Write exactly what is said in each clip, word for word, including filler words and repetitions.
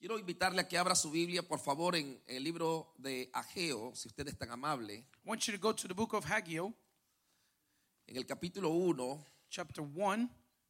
Quiero invitarle a que abra su Biblia, por favor, en el libro de Ageo, si usted es tan amable. I want you to go to the book of Haggai, En el capítulo uno. chapter one.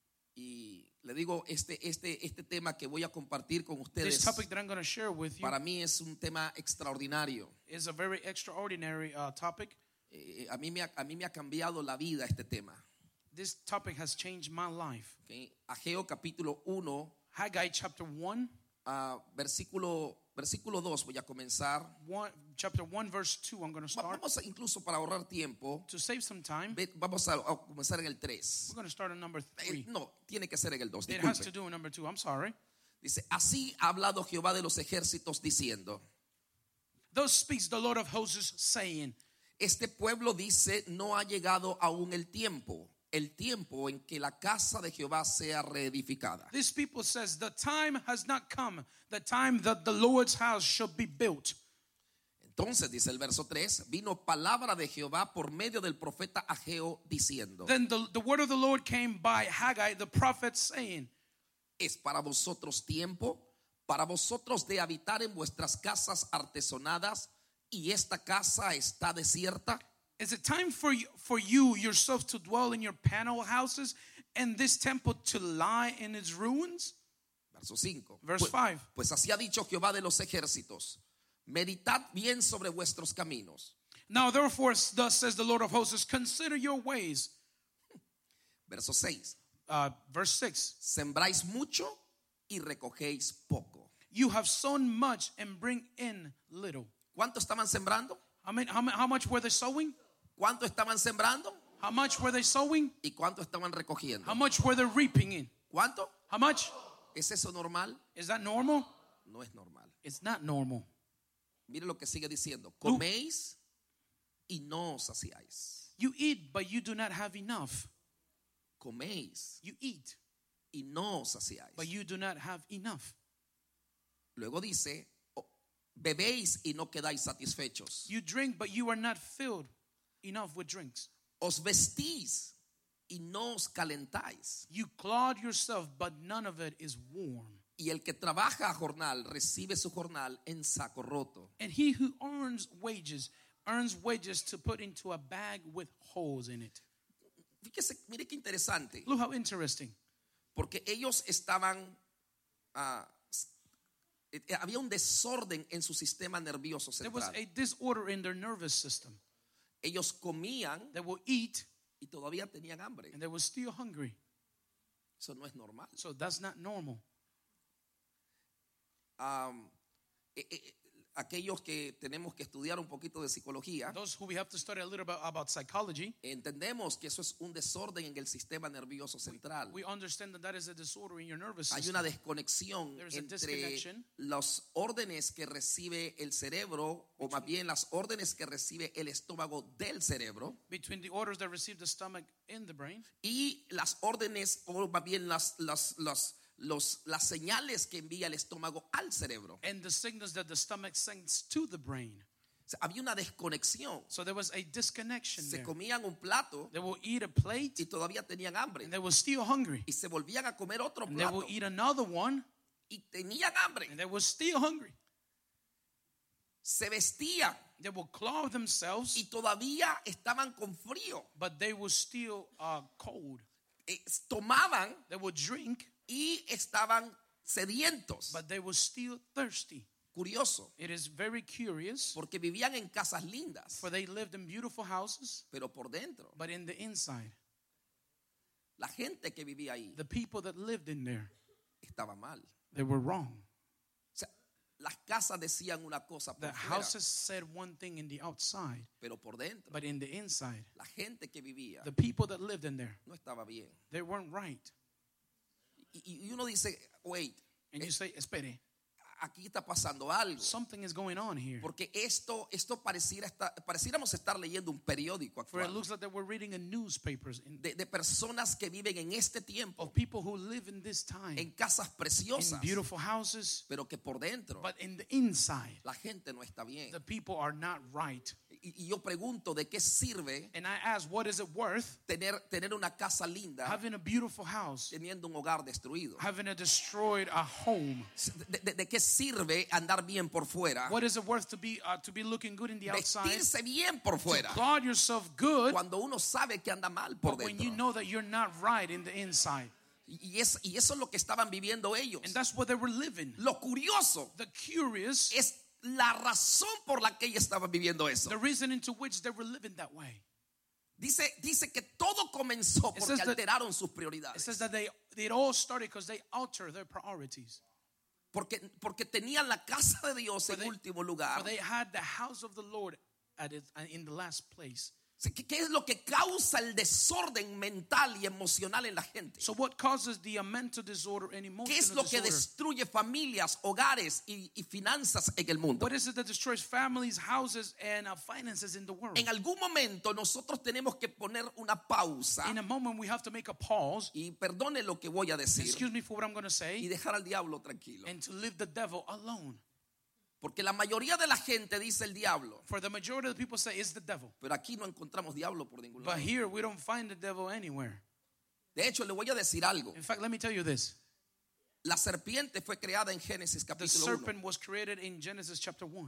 Y le digo, este, este, este tema que voy a compartir con This ustedes, topic that I'm going to share with you para mí es un tema extraordinario. is a very extraordinary uh, topic. Eh, a, mí me ha, a mí me ha cambiado la vida este tema. This topic has changed my life. ¿Okay? Ageo capítulo uno, Haggai chapter one, uh, versículo, versículo dos voy a comenzar. one chapter one verse two. I'm going to Va- start. Vamos a, incluso para ahorrar tiempo, To save some time, ve- vamos a, a comenzar en el tres. we're going to start on number Eh, three. no, tiene que ser en el dos. It has to Disculpe. do with number two. I'm sorry. Dice, así ha hablado Jehová de los ejércitos diciendo, Thus speaks the Lord of hosts, saying, este pueblo dice, no ha llegado aún el tiempo, el tiempo en que la casa de Jehová sea reedificada. this people says, the time has not come, the time that the Lord's house should be built. Entonces, dice el verso tres, vino palabra de Jehová por medio del profeta Ageo diciendo, Then the, the word of the Lord came by Haggai the prophet, saying, ¿es para vosotros tiempo, para vosotros de habitar en vuestras casas artesonadas y esta casa está desierta? is it time for you, for you yourself to dwell in your panel houses and this temple to lie in its ruins? Verso cinco. Verse Pues, five. pues así ha dicho Jehová de los ejércitos, meditad bien sobre vuestros caminos. Now therefore, thus says the Lord of hosts, consider your ways. Verso seis. Uh, verse six. Sembráis mucho y recogéis poco. You have sown much and bring in little. ¿Cuánto estaban sembrando? I mean, how, mu- how much were they sowing? ¿Cuánto estaban sembrando? How much were they sowing? ¿Y cuánto estaban recogiendo? How much were they reaping in? ¿Cuánto? How much? ¿Es eso normal? Is that normal? No es normal. It's not normal. Mire lo que sigue diciendo. Coméis y no os saciáis. You eat, but you do not have enough. Coméis You eat, y no os saciáis. but you do not have enough. Luego dice, oh, bebéis y no quedáis satisfechos. You drink, but you are not filled enough with drinks. Os vestís y no os calentáis. You clothe yourself, but none of it is warm. Y el que trabaja a jornal recibe su jornal en saco roto. And he who earns wages, earns wages to put into a bag with holes in it. Fíjese, mire qué interesante. Look how interesting. Porque ellos estaban, ah, eh, había un desorden en su sistema nervioso There was central. a disorder in their nervous system. Ellos comían They will eat, y todavía tenían hambre. and they were still hungry. Eso no es normal. So that's not normal. Um, eh, eh, aquellos que tenemos que estudiar un poquito de psicología, Those who we have to study a little bit about psychology, entendemos que eso es un desorden en el sistema nervioso central. we understand that that is a disorder in your nervous Hay system. una desconexión There's a entre disconnection. las órdenes que recibe el cerebro, o más bien las órdenes que recibe el estómago del cerebro, Between the orders that receive the stomach in the brain y las órdenes, o más bien las, las, las, los, las señales que envía el estómago al cerebro. and the signals that the stomach sends to the brain. O sea, había una desconexión. So there was a disconnection Se there. comían un plato They will eat a plate y todavía tenían hambre. and they were still hungry. Y se volvían a comer otro And they will plato eat another one y tenían hambre. and they were still hungry. Se vestían They will clothe themselves, y todavía estaban con frío. but they were still uh, cold. Eh, tomaban They would drink, y estaban sedientos. but they were still thirsty. Curioso, It is very curious, porque vivían en casas lindas, for they lived in beautiful houses, pero por dentro, but in the inside, la gente que vivía ahí the people that lived in there, estaba mal. they were wrong. O sea, las casas decían una cosa The por fuera, houses said one thing in the outside, pero por dentro, but in the inside, la gente que vivía the people that lived in there, no estaba bien. they weren't right. Y, y uno dice, wait, And you say, espere, aquí está pasando algo. something is going on here. Porque esto, esto pareciera estar, pareciéramos estar leyendo un periódico For it actual looks like that we're reading a newspapers in, de, de personas que viven en este tiempo of people who live in this time, en casas in preciosas, beautiful houses, pero que por dentro but in the inside, la gente no está bien. the people are not right. y yo pregunto, ¿de qué sirve And I ask, what is it worth tener, tener una casa linda having a beautiful house, teniendo un hogar destruido? having a destroyed a home? ¿De, de- de qué sirve andar bien por fuera? What is it worth to be uh, to be looking good in the outside, Vestirse bien por fuera guard yourself good, cuando uno sabe que anda mal por but when you dentro. know that you're not right in the inside? Y, es, y eso es lo que estaban viviendo ellos. And that's what they were living. Lo curioso The curious, es la razón por la que ellos estaban viviendo eso. the reason into which they were living that way. Dice, dice que todo comenzó It porque says that- alteraron sus It prioridades. says that they it all started because they altered their priorities. Porque, porque tenían la casa de Dios For en they- último lugar. For they had the house of the Lord at it, in the last place. ¿Qué, qué es lo que causa el desorden mental y emocional en la gente? So what causes the uh, mental disorder and ¿Qué es emotional lo que disorder? destruye familias, hogares y, y finanzas en el mundo? What is it that destroys families, houses, and uh, finances in the world? En algún momento nosotros tenemos que poner una pausa In a moment, we have to make a pause. y perdone lo que voy a decir Excuse me for what I'm going to y say, dejar al diablo tranquilo. and to leave the devil alone. Porque la mayoría de la gente dice el diablo, For the majority of the people say it's the devil, pero aquí no encontramos diablo por ningún but lado. here we don't find the devil anywhere. De hecho, le voy a decir algo. In fact, let me tell you this: La serpiente fue creada en Génesis the capítulo uno. serpent was created in Genesis chapter one.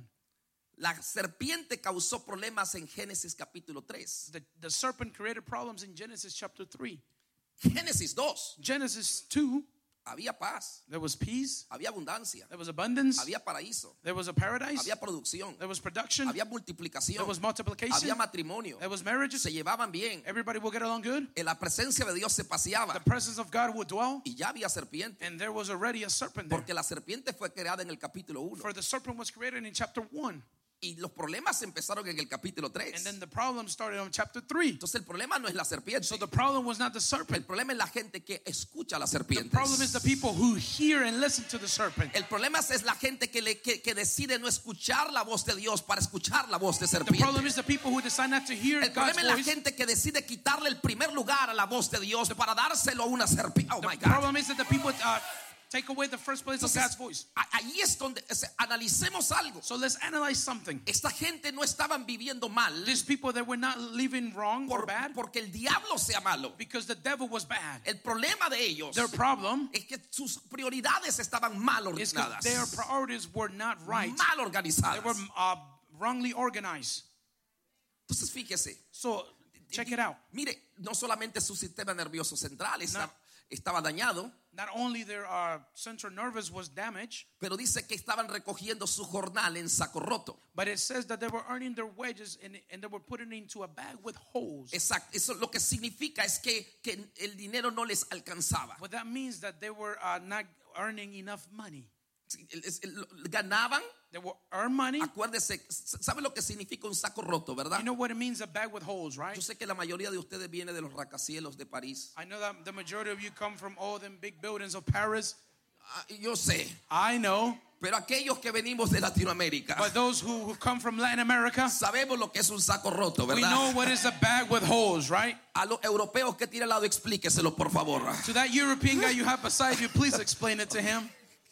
La serpiente causó problemas en Génesis capítulo tres. The, the serpent created problems in Genesis chapter three. Génesis dos, Genesis two, había paz, there was peace, había abundancia, there was abundance, había paraíso, there was a paradise, había producción, there was production, había multiplicación, there was multiplication, había matrimonio, there was marriages. se llevaban bien, Everybody will get along good. en la presencia de Dios se paseaba The presence of God would dwell, y ya había serpiente, and there was already a serpent there. porque la serpiente fue creada en el capítulo uno For the serpent was created in chapter one, y los problemas empezaron en el capítulo and tres. then the problem started on chapter three. Entonces el problema no es la serpiente, So the problem was not the el serpent. problema es la gente que escucha a la The serpiente. problem is the people who hear and listen to the serpent. El problema es la gente que, le, que, que decide no escuchar la voz de Dios para escuchar la voz de The problem serpiente. is the people who decide not to hear El God's problema es la voice. gente que decide quitarle el primer lugar a la voz de Dios para dárselo a una serpiente. Oh my The God. problem is that the people uh, take away the first place of God's Entonces, voice. a- ahí es donde o sea, analicemos algo. So let's analyze something. Esta gente no estaban viviendo mal These people that were not living wrong or por- bad porque el diablo sea malo. because the devil was bad. El problema de ellos Their problem es que sus prioridades estaban mal is because ordenadas, their priorities were not right. mal They organizadas. were uh, wrongly organized. Entonces fíjese, So check it out. mire, no solamente su sistema nervioso central está- estaba dañado, Not only their uh, central nervous was damaged, pero dice que estaban recogiendo su jornal en saco roto. but it says that they were earning their wages and, and they were putting it into a bag with holes. Exacto, eso lo que significa es que, que el dinero no les alcanzaba. What that means that they were uh, not earning enough money. Es- es- Ganaban, They will earn money. acuérdese, ¿sabe lo que significa un saco roto, verdad? You know what it means, a bag with holes, right? Yo sé que la mayoría de ustedes viene de los rascacielos de París. I know that the majority of you come from all them big buildings of Paris. Ah, yo sé, I know. pero aquellos que venimos de Latinoamérica But those who, who come from Latin America, sabemos lo que es un saco roto, we ¿verdad? know what is a bag with holes, right? A los europeos que tiene al lado, explíqueselo, por favor. To that European guy you have beside you, please explain it to him.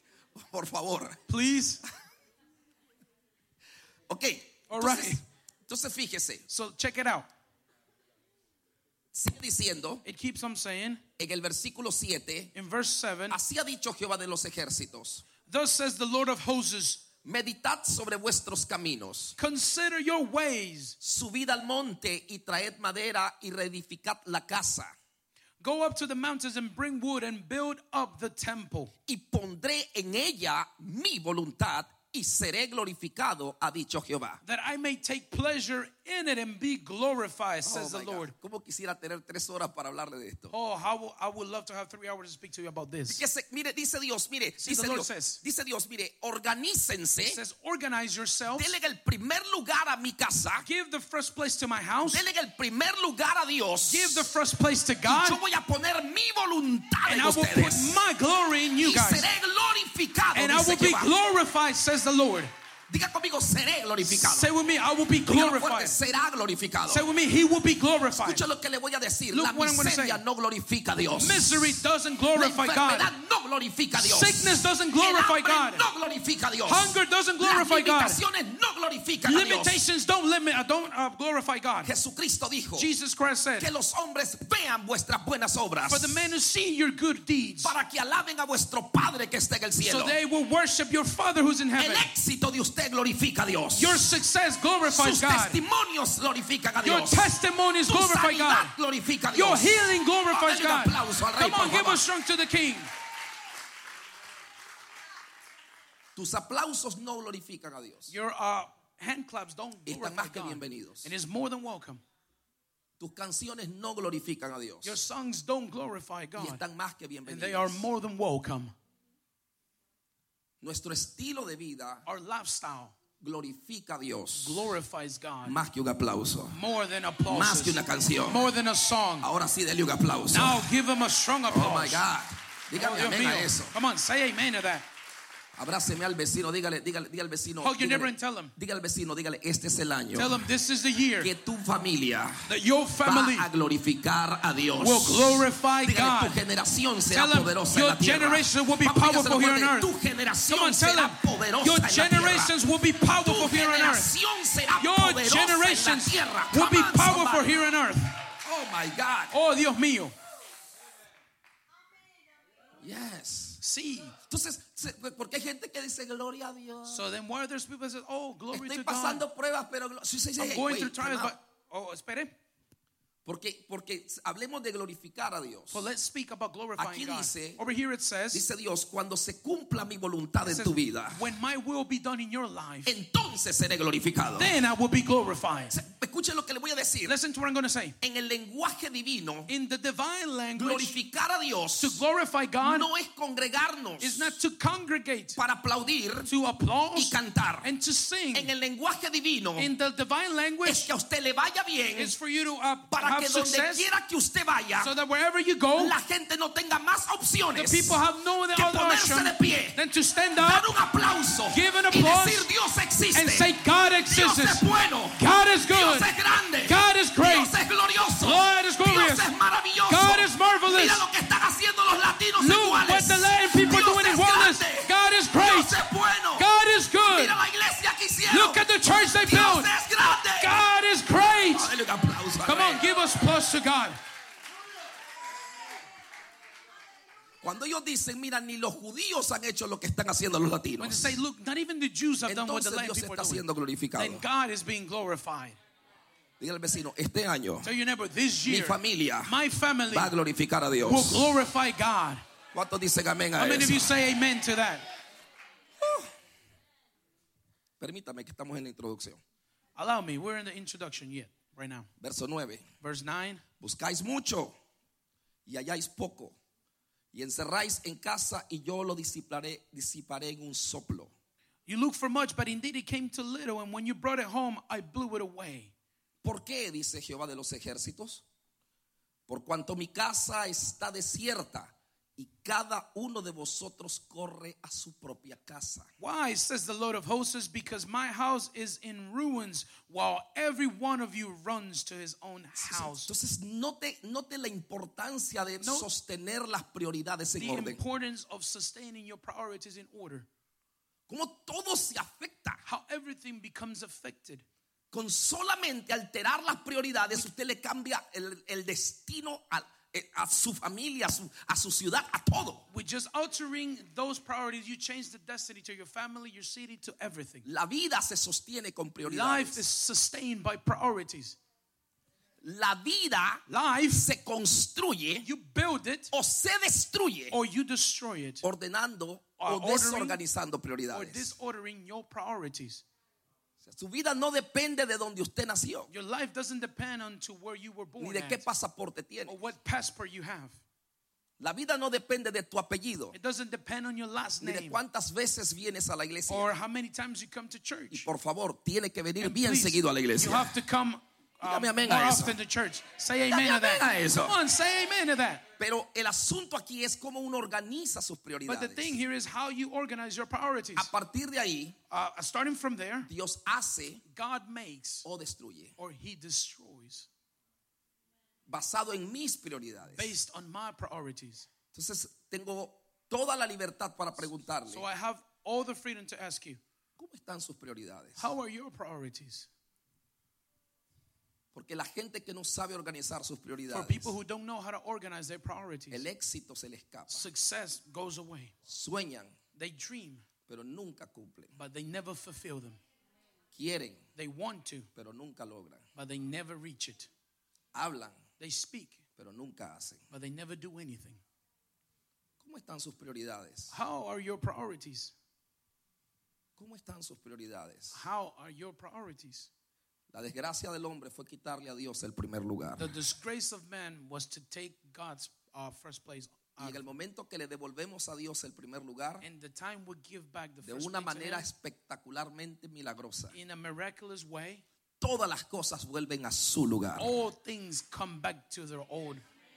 Por favor. Please. Ok. All Entonces, right. entonces fíjese, So check it out. sigue diciendo It keeps on saying en el versículo siete, in verse seven, así ha dicho Jehová de los ejércitos, thus says the Lord of hosts, meditad sobre vuestros caminos, consider your ways. subid al monte y traed madera y reedificad la casa, Go up to the mountains and bring wood and build up the temple. y pondré en ella mi voluntad y seré glorificado, ha dicho Jehová. That I may take pleasure in it and be glorified, says Oh the my God. Lord. ¿Cómo quisiera tener tres horas para hablarle de esto? Oh, how will, I would love to have three hours to speak to you about this. Que se- mire, dice Dios, mire, See, dice the Lord Dios, says- dice Dios, mire, organícense, It says, organize yourselves. denle el primer lugar a mi casa, Give the first place to my house. denle el primer lugar a Dios, Give the first place to y God. yo voy a poner mi voluntad And en I will put ustedes, my glory in you y guys. seré glorificado, And I dice will be Jehová. glorified, says the Lord. Diga conmigo, seré glorificado. Say with me, I will be Dígalo fuerte, glorified. será glorificado. Say with me, he will be glorified. Escucha lo que le voy a decir. Look La what I'm gonna miseria say. no glorifica a Dios. Misery doesn't La glorify enfermedad God. no glorifica a Dios. Sickness doesn't El glorify hambre God. no glorifica a Dios. Hunger doesn't Las glorify God. limitaciones no glorifican glorifican a Dios. Limitations don't limit, uh, don't uh, glorify God. Jesucristo dijo Jesus Christ said, que los hombres vean vuestras buenas obras for the men who see your good deeds, para que alaben a vuestro Padre que está en el cielo. so they will worship your Father who's in El heaven. éxito de usted glorifica a Dios. Your success glorifies Sus God. testimonios glorifican a Your Dios. testimonies Tu glorify God. sanidad glorifica a Your Dios. healing glorifies Dale un God. aplauso al Rey, Come on, por give favor. a strong to the King. Tus aplausos no glorifican a Dios. Your uh, hand claps don't Están glorify más que God. bienvenidos. And it's more than welcome. Tus canciones no glorifican a Dios. Your songs don't glorify Y God. están más que And they are bienvenidos. more than welcome. Nuestro estilo de vida Our lifestyle glorifica a Dios. glorifies God. Más que un aplauso. More than Más que applause. una canción. More than a song. Ahora sí, dele un aplauso. Now give him a strong Oh my applause. God. Oh, Dígame Dios amén a mío. eso. Come on, say amen to that. Abráceme al vecino, dígale, dígale, dígale al vecino. Hug your neighbor Dígale, and tell him. dígale al vecino, dígale, este es el año Tell him this is the year que tu familia that your family va a glorificar a Dios. will glorify Dígale, God. tu generación será Tell him poderosa en your la tierra. generation will be Vamos, dígaselo powerful here on fuerte, earth. tu generación Come on, tell será him poderosa your en la tierra. generations will be powerful Tu here on earth. generación será Your poderosa en la generations tierra. will be Come on, powerful somebody. here on earth. Oh my God. Oh, Dios mío. Yes. See. Entonces, se- porque hay gente que dice gloria a Dios. So then why there's people that say, oh, glory Estoy to God. pasando pruebas, pero glo- sí, sí, sí, I'm hey, going wait, through trials, time but out. oh, espere. Porque, porque hablemos de glorificar a Dios. Well, let's speak about glorifying Aquí God. dice- Over here it says, Dice Dios, cuando se cumpla mi voluntad it en says, tu vida, when my will be done in your life, entonces seré glorificado. then I will be glorified. Escuchen lo que le voy a decir. Listen to what I'm going to say. En el lenguaje divino, In the divine language, glorificar a Dios to glorify God no es congregarnos is not to congregate, para aplaudir to y applause cantar. and to sing. En el lenguaje divino In the divine es language, que a usted le vaya bien is for you to uh, para have que donde success, quiera que usted vaya, so that wherever you go, la gente no tenga más the opciones people have no other que ponerse option de pie, than to stand dar up un aplauso Give an y applause decir Dios existe. and say, God Dios exists. es bueno. God is Dios good. es grande. God is great. Dios es glorioso. God is glorious. Dios es maravilloso. God is marvelous. Mira lo que están haciendo los latinos en Look what Juárez. the Latin people Dios are doing in es Juárez. grande. God is great. Dios es bueno. God is good. Mira la iglesia que hicieron. Look at the church they Dios built. es grande. God is great. Dale un aplauso al Come Rey. on, give us plus to God. Cuando ellos dicen, mira, ni los judíos han hecho lo que están haciendo los When they latinos, say, look, not even the Jews have done what the entonces Latin Dios people está are doing, siendo glorificado. then God is being glorified. Dígale al vecino, este año Tell your neighbor, this mi year, familia my family va a glorificar a will Dios. glorify God. ¿Cuántos dicen amén a How many of you eso? say amen to that? Permítame que estamos en la introducción. Allow me, we're in the introduction yet, right now. Verso nueve. Verse nine. Buscáis mucho y halláis poco. Y encerráis en casa y yo lo disiparé, disiparé en un soplo. You look for much, but indeed it came to little, and when you brought it home, I blew it away. ¿Por qué? Dice Jehová de los ejércitos. Por cuanto mi casa está desierta y cada uno de vosotros corre a su propia casa. Why, says the Lord of hosts, because my house is in ruins, while every one of you runs to his own house. Entonces note, note la importancia de No. sostener las prioridades en The orden. importance of sustaining your priorities in order. Cómo todo se afecta. How everything becomes affected. Con solamente alterar las prioridades, usted le cambia el, el destino a, a su familia, a su, a su ciudad, a todo. With just altering those priorities, you change the destiny to your family, your city, to everything. La vida se sostiene con Life is prioridades. sustained by priorities. La vida Life, se construye you build it o se destruye or you destroy it, ordenando Or o ordering, desorganizando or prioridades. disordering your priorities. Su vida no depende de donde usted nació, Your life doesn't depend on to where you were born ni de qué at, pasaporte tiene. or what passport you have. La vida no depende de tu apellido, It doesn't depend on your last ni de name cuántas veces vienes a la iglesia. or how many times you come to Y church. por favor, tiene que venir And bien please, seguido a la you iglesia. have to come um, Dígame amén more a eso. often to church. Say Dígame amen to amén a that. eso. Come on, say amen to that. Pero el asunto aquí es cómo uno organiza sus But the prioridades. thing here is how you organize your priorities. A partir de ahí, Uh, starting from there, Dios hace God makes o destruye, or he destroys basado en mis prioridades. based on my priorities. Entonces, tengo toda la libertad para preguntarle, So I have all the freedom to ask you, ¿Cómo están sus prioridades? How are your priorities? Porque la gente que no sabe organizar sus For prioridades, people who don't know how to organize their priorities, el éxito se le escapa. success goes away. Sueñan, They dream, pero nunca cumplen. but they never fulfill them. Quieren, They want to, pero nunca logran. but they never reach it. Hablan, They speak, pero nunca hacen. but they never do anything. ¿Cómo están sus prioridades? How are your priorities? ¿Cómo están sus prioridades? How are your priorities? La desgracia del hombre fue quitarle a Dios el primer lugar. The disgrace of man was to take God's uh, first place. Y en el momento que le devolvemos a Dios el primer lugar, And the time we give back the de first una place to manera him, espectacularmente milagrosa, in a miraculous way, todas las cosas vuelven a su lugar. all things come back to their old.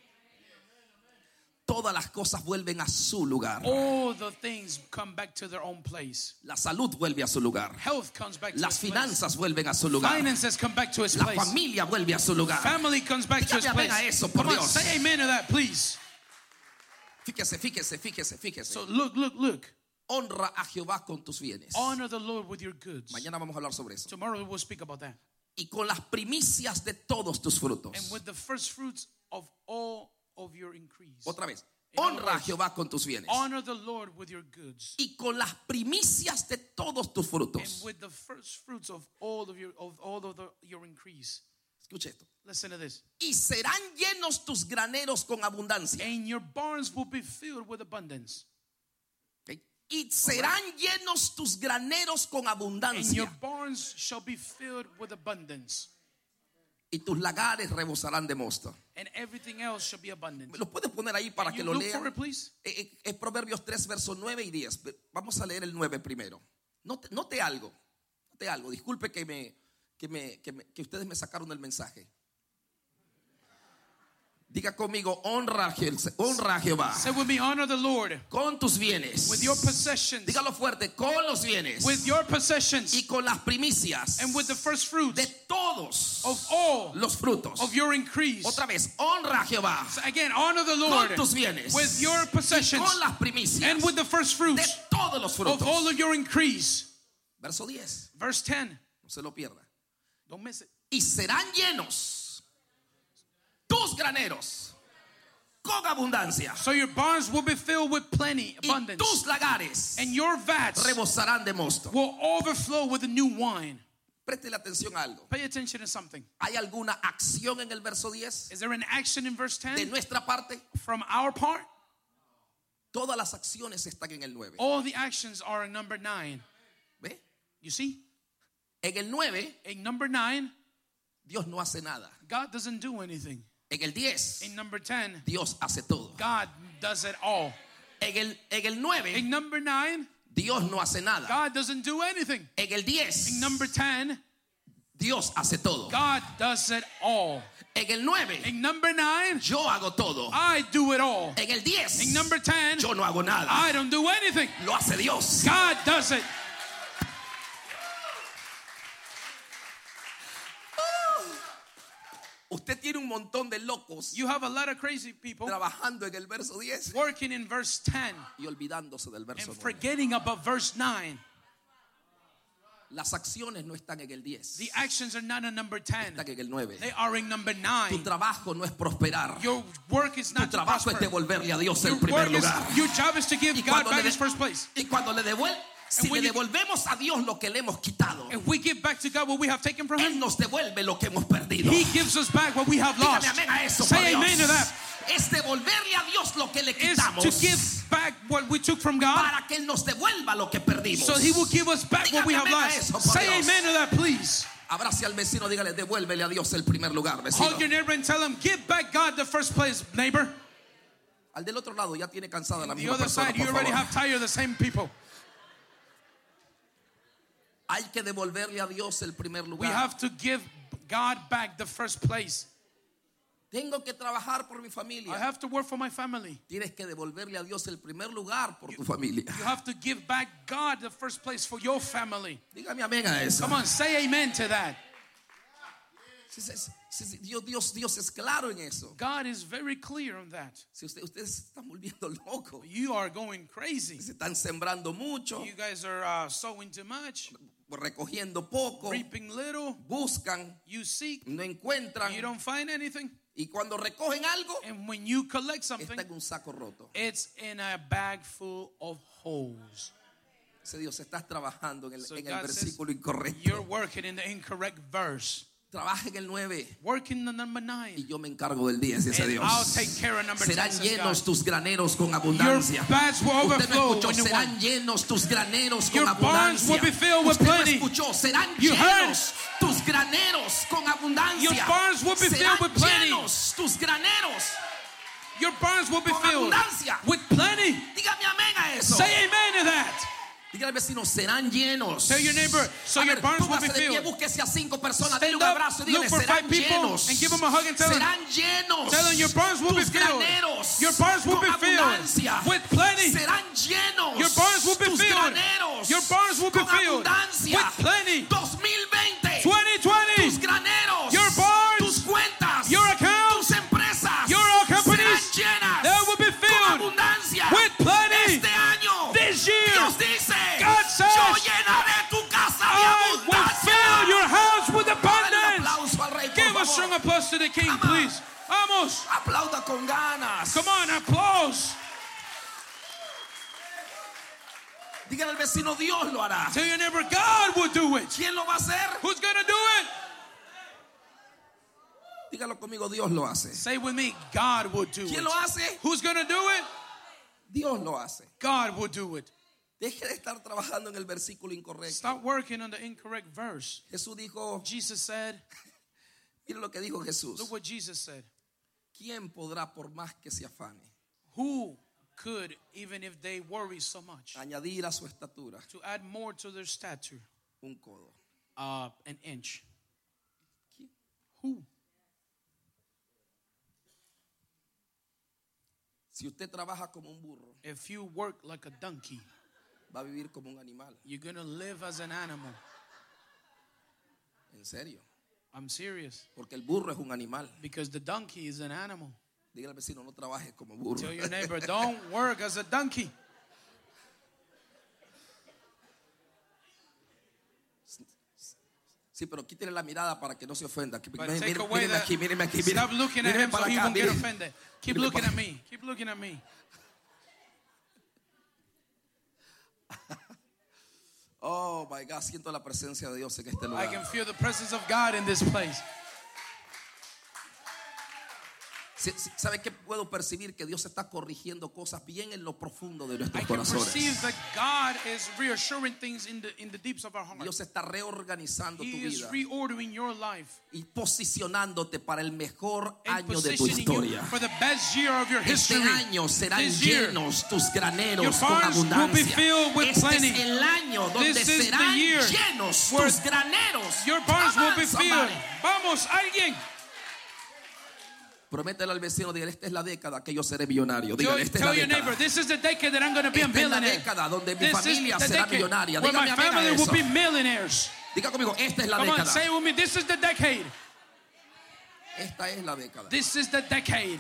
Todas las cosas vuelven a su lugar. All the things come back to their own place. La salud vuelve a su lugar. Health comes back to Las its place. finanzas vuelven a su lugar. Finances come back to its La place. familia vuelve a su lugar. Family comes back to its Dígame amén place. a eso, por Come on, Dios. say amen to that, please. Fíjese, fíjese, fíjese, fíjese. So look, look, look. Honra a Jehová con tus bienes. Honor the Lord with your goods. Mañana vamos a hablar sobre eso. Tomorrow we will speak about that. Y con las primicias de todos tus frutos. And with the first fruits of all of your increase. Otra vez. In other Honra a words, Jehová con tus bienes. honor the Lord with your goods. Y con las primicias de todos tus And frutos. with the first fruits of all of your of all of the, your increase. Escuche esto. Listen to this. Y serán llenos tus graneros con abundancia. And your barns will be filled with abundance. ¿Ok? Y serán llenos tus graneros con And your abundancia. barns shall be filled with abundance. Y tus lagares rebosarán de mosto. And everything else shall be abundant. ¿Me lo puedes poner ahí para Can que you lo look for lean? it, please? Eh, eh, Es Proverbios tres, versos nueve y diez. Vamos a leer el nueve primero. Note, note algo. Note algo. Disculpe que, me, que, me, que, me, que ustedes me sacaron el mensaje. Diga conmigo, honra a, Je- honra a Jehová Say with me, honor the Lord con tus bienes. with your possessions. Dígalo fuerte, con los bienes. With your possessions. Y con las primicias And with the first fruits de todos of all los frutos. of your increase. Otra vez, honra a Jehová So again, honor the Lord con tus bienes. with your possessions. Con las primicias And with the first de fruits todos los of all frutos. of your increase. Verso diez. Verse ten. No se lo pierda. Don't miss it. Y serán llenos tus graneros con abundancia. So your barns will be filled with plenty, Y abundance. tus lagares And your vats rebosarán de mosto. will overflow with the new wine. Préstele atención a algo. Pay attention to something. ¿Hay alguna acción en el verso diez Is there an action in verse de ten nuestra parte? from our part? Todas las acciones están en el nueve. All the actions are in number nine. ¿Ve? You see? En el nueve, In number nine, Dios no hace nada. God doesn't do anything. En el diez, In number ten, Dios hace todo. God does it all. En el, en el nueve, In number nine, Dios no hace nada. God doesn't do anything. En el diez, In number ten, Dios hace todo. God does it all. En el nueve, In number nine, yo hago todo. I do it all. En el diez, In number ten, yo no hago nada. I don't do anything. Lo hace Dios. God does it. Usted tiene un montón de locos You have a lot of crazy people trabajando en el verso diez working in verse ten y olvidándose del verso and nueve. forgetting about verse nine. Las acciones no están en el diez, The actions are not in number ten. están en el nueve. They are in number Tu nine. trabajo no es prosperar. Your work is Tu not to trabajo es prosper. devolverle a Dios el Your, primer work is, lugar. your job is to give Y God cuando, back le, his first place. y cuando le devuelve, si when le you- devolvemos a Dios lo que le hemos quitado, If we give back to God what we have taken from Él him, nos devuelve lo que hemos perdido. he gives us back what we have Dígame lost. amén a eso, por Say Dios. amen to that. Es devolverle a Dios lo que le Is quitamos to give back what we took from God, para que Él nos devuelva lo que perdimos. so he will give us back what we have Dígame amén a lost. eso, por Say Dios. amen to that, please. Abrace al vecino, dígale, devuélvele a Dios el primer lugar, vecino. Hug your neighbor and tell him, give back God the first place, neighbor. Al del otro lado ya tiene cansada la The misma other persona, side, you por already favor. have tired of the same people. Hay que devolverle a Dios el primer We lugar. have to give God back the first place. Tengo que trabajar por mi I familia. have to work for my family. Tienes que devolverle a Dios el primer lugar por tu familia. You have to give back God the first place for your family. Dígame amén a eso. Come on, say amen to that. Si, si, si, si, Dios, Dios, Dios es claro en eso. God is very clear on that. Si usted, ustedes se están volviendo locos, You are going crazy. se están sembrando mucho, You guys are uh, sowing too much, recogiendo poco, reaping little. buscan, You seek, no encuentran, you don't find anything. y cuando recogen algo, And when you collect something, está en un saco roto. it's in a bag full of holes. Ese Dios, estás trabajando en el, So en el God says, versículo incorrecto. you're working in the incorrect verse. Trabaja en el nueve Work in the number nine. y yo me encargo del diez, dice And Dios. I'll take care of number Serán ten, says llenos God. tus graneros con Your abundancia. bags will Usted me overflow escuchó, when you serán want. llenos tus graneros con Your barns abundancia. will be filled with Usted me plenty. escuchó, serán You heard. llenos tus graneros con abundancia. Your barns will be serán filled with plenty. llenos tus graneros. Your barns will be Con filled abundancia. with plenty. Dígame amén a eso. Say amen to that. Dígale al vecino, serán llenos. Tell your neighbor, so A your ver, barns will be póngase de pie, filled. búsquese a cinco personas, Stand denle un up, abrazo y look dígale, for serán five people llenos. and give them a hug and tell them, Serán llenos. tell them your barns will be tus filled. graneros Your barns will con be filled abundancia. with plenty. Serán llenos. Your barns will be tus filled. graneros Your barns will be con filled abundancia. with plenty. dos mil veinte. twenty twenty. Tus graneros. Your barns, tus cuentas. your accounts, tus empresas. your companies, serán llenas. they will be con filled abundancia. with plenty. Este año. This year, Dios dice. God says, yo llenaré tu casa de I will abundancia. fill your house with Dale un abundance. aplauso al rey, por Give a favor. strong applause to the King, Come on. please. Vamos. Aplauda con ganas. Come on, applause. Dígale al vecino, Dios lo hará. Tell your neighbor, God will do it. ¿Quién lo va a hacer? Who's going to do it? Dígalo conmigo, Dios lo hace. Say with me, God will do ¿Quién it. lo hace? Who's going to do it? Dios lo hace. God will do it. Deje de estar trabajando en el versículo incorrecto. Stop working on the incorrect verse. Jesús dijo, Jesus said, mire lo que dijo Jesús. look what Jesus said. ¿Quién podrá por más que se afane Who could, even if they worry so much, añadir a su estatura to add more to their stature, un codo? uh, an inch? ¿Quién? Who? Si usted trabaja como un burro, If you work like a donkey, va a vivir como un animal. you're going to live as an animal. En serio. I'm serious. Porque el burro es un animal. Because the donkey is an animal. Dígale al vecino, no trabajes como burro. Tell your neighbor, don't work as a donkey. Sí, pero quítele la mirada para que no se ofenda. But Miren, take miren, away mírenme that. aquí, mírenme aquí. Stop Miren, looking at mírenme him so para he acá, won't get miren. offended. Keep Mírenme looking para at me. Keep looking at me. Oh my God, siento la presencia de Dios en este I lugar. can feel the presence of God in this place. Sí, sí, ¿sabe qué puedo percibir? Que Dios está corrigiendo cosas bien en lo profundo de I nuestros can corazones. perceive that God is reassuring things in the in the deeps of our heart. Dios está reorganizando tu He is vida reordering your life y posicionándote para el mejor and año de tu positioning you historia. for the best year of your Este history. año serán This year, llenos tus graneros your con barns will be abundancia. filled with Este plenty. es el año donde This is the serán year llenos where tus graneros. Your barns Come will on, be filled. somebody. Vamos, alguien. Prométele al vecino, dígale, esta es la década que yo seré millonario. Tell, Dígale, esta es la tell your década. neighbor, this is the decade that I'm going to be a Esta es la millionaire. década donde mi This is familia the será decade millonaria. where my Dígame amén a family will eso. be millionaires. Diga conmigo, esta es la Come on, década. say it with me. This is the decade. Esta es la década. This is the decade.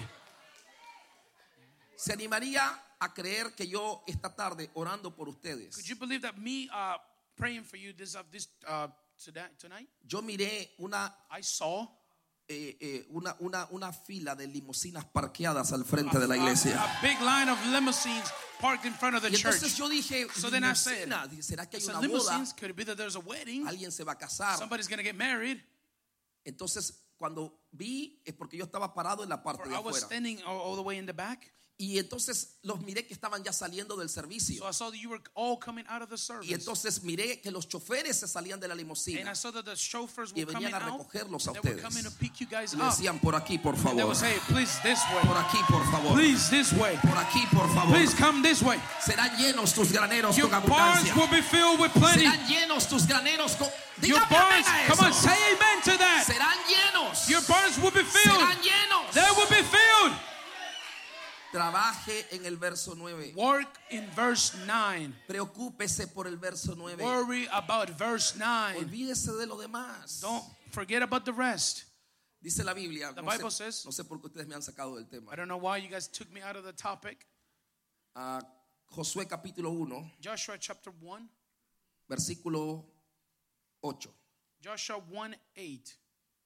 ¿Se animaría a creer que yo esta tarde orando por ustedes? Could you believe that me uh, praying for you this, uh, this uh, today, tonight? Yo miré una, I saw eh, eh, una, una, una fila de limusinas parqueadas al frente de la iglesia. a, a big line of limousines parked in front of the Y entonces church. yo dije, So then I said, limusina, dije, ¿será que hay So una boda? limousines, could it be that there's a wedding? Alguien se va a casar. Somebody's going to get married. Entonces cuando vi es porque yo estaba parado en la parte Or de I was afuera. standing all, all the way in the back. Y entonces los miré que estaban ya saliendo del servicio. So I saw that you were all coming out of the service. Y entonces miré que los choferes se salían de la And I limusina saw that the chauffeurs y were coming venían a out. recogerlos a They were ustedes. coming to pick you guys Y le up. decían, por aquí, por They favor. would say, please this Por way. aquí, por favor. Please this way. Por aquí, por favor. Please come this way. Serán llenos tus graneros Your con barns abundancia. will be filled with plenty. Serán llenos tus graneros con... Your Dígame barns, amén a come on, eso. say amen to that. Serán llenos. Your barns will be filled. Serán llenos. They will be filled. Trabaje en el verso nueve. Work in verse nine. Preocúpese por el verso nueve. Worry about verse nine. Olvídese de lo demás. Don't forget about the rest. Dice la Biblia, The no Bible sé, says- no sé por qué ustedes me han sacado del tema. I don't know why you guys took me out of the topic. Ah, Josué capítulo uno, Joshua chapter one. versículo ocho. Joshua one eight.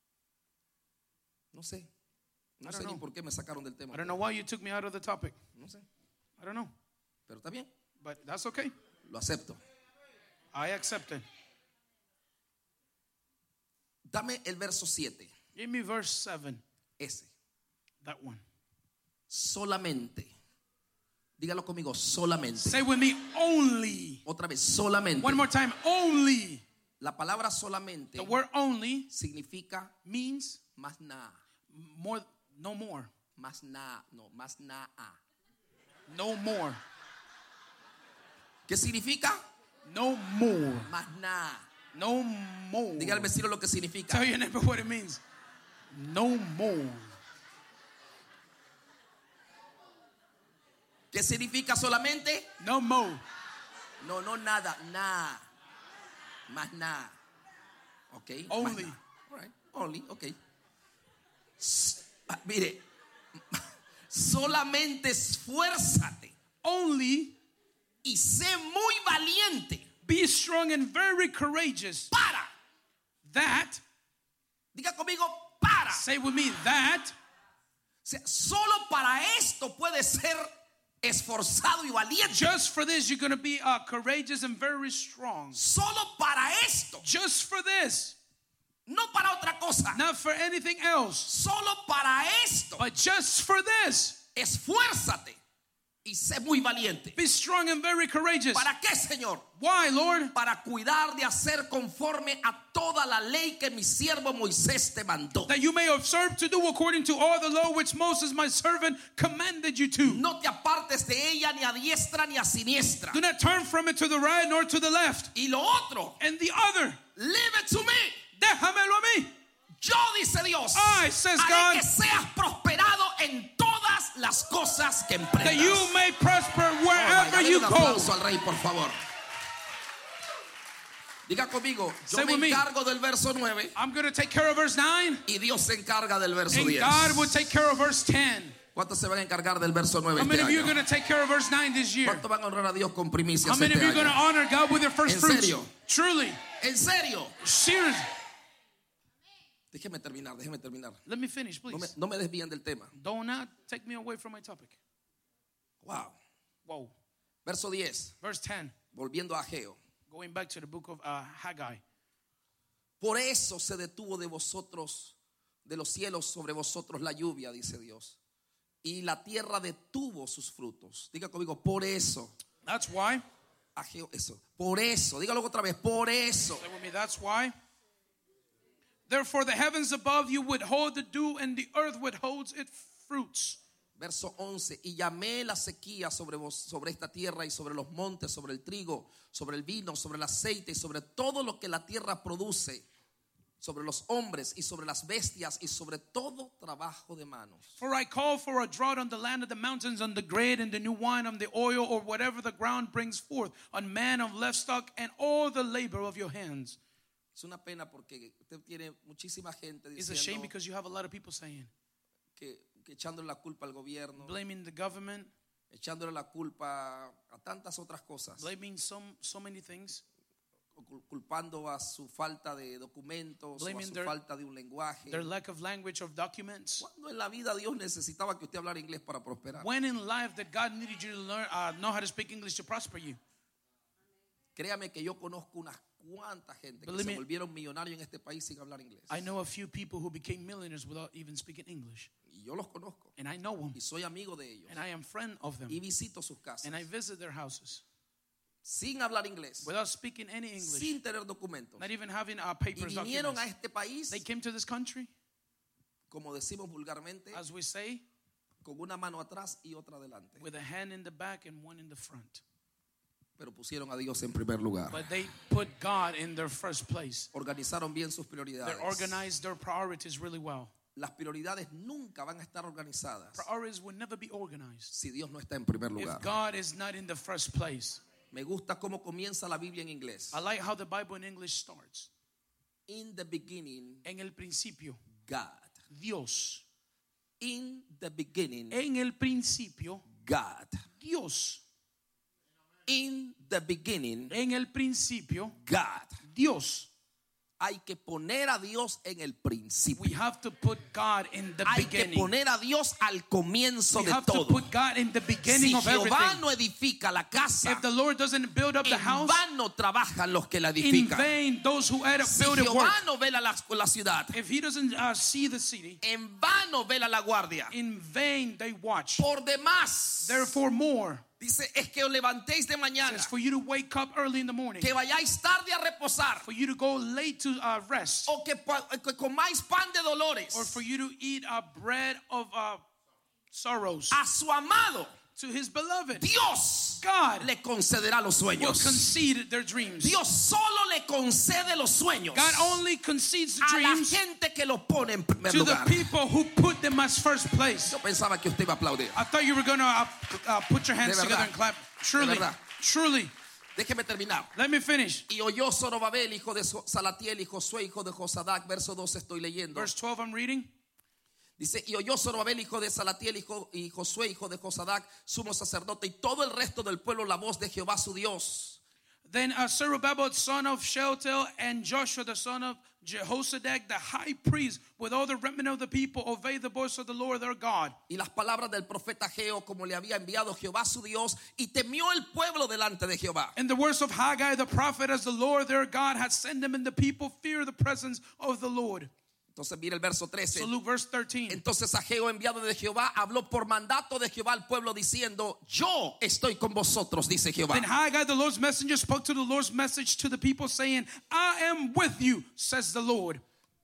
No sé. No I sé don't ni know. por qué me sacaron del tema. I don't know why you took me out of the topic. No sé. I don't know. Pero está bien. But that's okay. Lo acepto. I accept it. Dame el verso siete. Give me verse seven. Ese. That one. Solamente. Dígalo conmigo. Solamente. Say with me, only. Otra vez. Solamente. One more time, only. La palabra solamente The word only significa means más nada. more, no more. Más nada. No, más nada. No more. ¿Qué significa? No more. Más nada. No more. Diga al vecino lo que significa. Tell your neighbor what it means. No more. ¿Qué significa solamente? No more. No, no nada, nada. Más nada. Ok. más Only. nada. All right. Only, ok. S- ah, mire, solamente esfuérzate Only y sé muy valiente be strong and very courageous. para. That, Diga conmigo, para. say with me, that O sea, solo para esto puede ser esforzado y valiente. just for this you're going to be uh, courageous and very strong. Solo para esto, Just for this, no para otra cosa. not for anything else, Solo para esto, but just for this. esfuérzate y sé muy valiente. Be strong and very courageous. ¿Para qué, Señor? Why, Lord? Para cuidar de hacer conforme a toda la ley que mi siervo Moisés te mandó. That you may observe to do according to all the law which Moses my servant commanded you to. No te apartes de ella ni a diestra ni a siniestra. Do not turn from it to the right nor to the left. Y lo otro, And the other, leave it to me. déjamelo a mí. Yo, dice Dios, I, says haré God, que seas prosperado en todas las cosas que emprendas. that you may prosper Oh, wherever vaya, you denle un go. aplauso al rey, por favor. Diga conmigo, yo Say me with me. encargo del verso nueve I'm going to take care of verse nine, y Dios se encarga del verso and diez. God will take care of verse ten. ¿Cuántos se van a encargar del verso nueve How many este of you are año? going to take care of verse nine this year? ¿Cuántos van a honrar a Dios con primicias How many este of you are going to año? honor God with your first ¿En fruits? serio? Truly, En serio. seriously. Déjeme terminar, déjeme terminar. Let me finish, No me, please. no me desvíen del tema. Do not take me away from my topic. Wow. Whoa. Verso diez. Verse ten, Volviendo a Ageo. going back to the book of uh, Haggai. Por eso se detuvo de vosotros, de los cielos sobre vosotros la lluvia, dice Dios. Y la tierra detuvo sus frutos. Diga conmigo, por eso. That's why. Ageo, eso. Por eso. Dígalo otra vez, por eso. Say with me, that's why. Therefore the heavens above you withhold the dew, and the earth withholds its fruits. Verso once. Y llamé la sequía sobre vos, sobre esta tierra y sobre los montes, sobre el trigo, sobre el vino, sobre el aceite y sobre todo lo que la tierra produce, sobre los hombres y sobre las bestias y sobre todo trabajo de manos. For I call for a drought on the land of the mountains, on the grain and the new wine, on the oil, or whatever the ground brings forth, on man of livestock, and all the labor of your hands. Es una pena porque usted tiene muchísima gente It's a shame diciendo because you have a lot of people saying, que, que echándole la culpa al gobierno, blaming the government, echándole la culpa a tantas otras cosas, blaming some so many things, cul- culpando a su falta de documentos, o a Blaming su their- falta de un lenguaje. their lack of language of documents. Cuando en la vida Dios necesitaba que usted hablara inglés para prosperar. When in life that God needed you to learn, uh, know how to speak English to prosper you. Créame que yo conozco unas cuantas gente que Believe se me- volvieron millonarios en este país sin hablar inglés. I know a few people who became millionaires without even speaking English. Y yo los conozco. And I know them. Y soy amigo de ellos. And I am friend of them. Y visito sus casas. And I visit their houses Sin hablar inglés. without speaking any English. Sin tener documentos. Not even having uh, Y papers, vinieron a documents. este país, They came to this country, como decimos vulgarmente, as we say, con una mano atrás y otra adelante. with a hand in the back and one in the front. Pero pusieron a Dios en primer lugar. But they put God in their first place. Organizaron bien sus They prioridades. organized their priorities really well. Las prioridades nunca van a estar organizadas Priorities will never be organized si Dios no está en primer lugar. if God is not in the first place. Me gusta cómo comienza la Biblia en inglés. I like how the Bible in English starts. In the beginning, En el principio, God. Dios. In the beginning, En el principio, God. Dios. In the beginning, En el principio, God. Dios. Hay que poner a Dios en el principio. We have to put God in the Hay que beginning. poner a Dios al comienzo We de have to todo. put God in the beginning Si of Jehová everything. no edifica la casa, If the Lord doesn't build up the en house, vano trabajan los que la in edifican. vain those who add up Si build it work. Jehová no vela la, la ciudad, If he doesn't uh, see the city, en vano vela la guardia. in vain they watch. Por demás, Therefore more, dice, es que os levantéis de mañana, it's for you to wake up early in the morning, que vayáis tarde a reposar, for you to go late to uh, rest, o que, pa- que comáis pan de dolores or for you to eat a bread of uh, sorrows. a su amado. To his beloved, Dios God le concederá los will sueños. concede their dreams. Dios solo le concede los sueños God only concedes the a la dreams gente que lo pone en primer to the lugar. people who put them as first place. Yo pensaba que usted iba a aplaudir. I thought you were going to uh, uh, put your hands De together verdad. and clap. Truly, verdad. truly. Déjeme terminar. Let me finish. Y oyó Zorobabel, hijo de Salatiel, y Josué, hijo de Josadac. Verso doce estoy leyendo. Verse twelve, I'm reading. Dice, y oyó Zorobabel, hijo de Salatiel, hijo, y Josué, hijo de Josadac, sumo sacerdote, y todo el resto del pueblo la voz de Jehová su Dios. Then uh, Zerubbabel, son of Shealtiel, and Joshua, the son of Jehozadak, the high priest, with all the remnant of the people, obey the voice of the Lord their God. Y las palabras del profeta Ageo, como le había enviado Jehová su Dios, y temió el pueblo delante de Jehová. And the words of Haggai the prophet, as the Lord their God had sent them, and the people fear the presence of the Lord. Entonces mira el verso trece. So Luke verse thirteen. Entonces Ageo, enviado de Jehová, habló por mandato de Jehová al pueblo diciendo, yo estoy con vosotros, dice Jehová. Then Haggai the Lord's messenger spoke to the Lord's message to the people, saying, I am with you, says the Lord.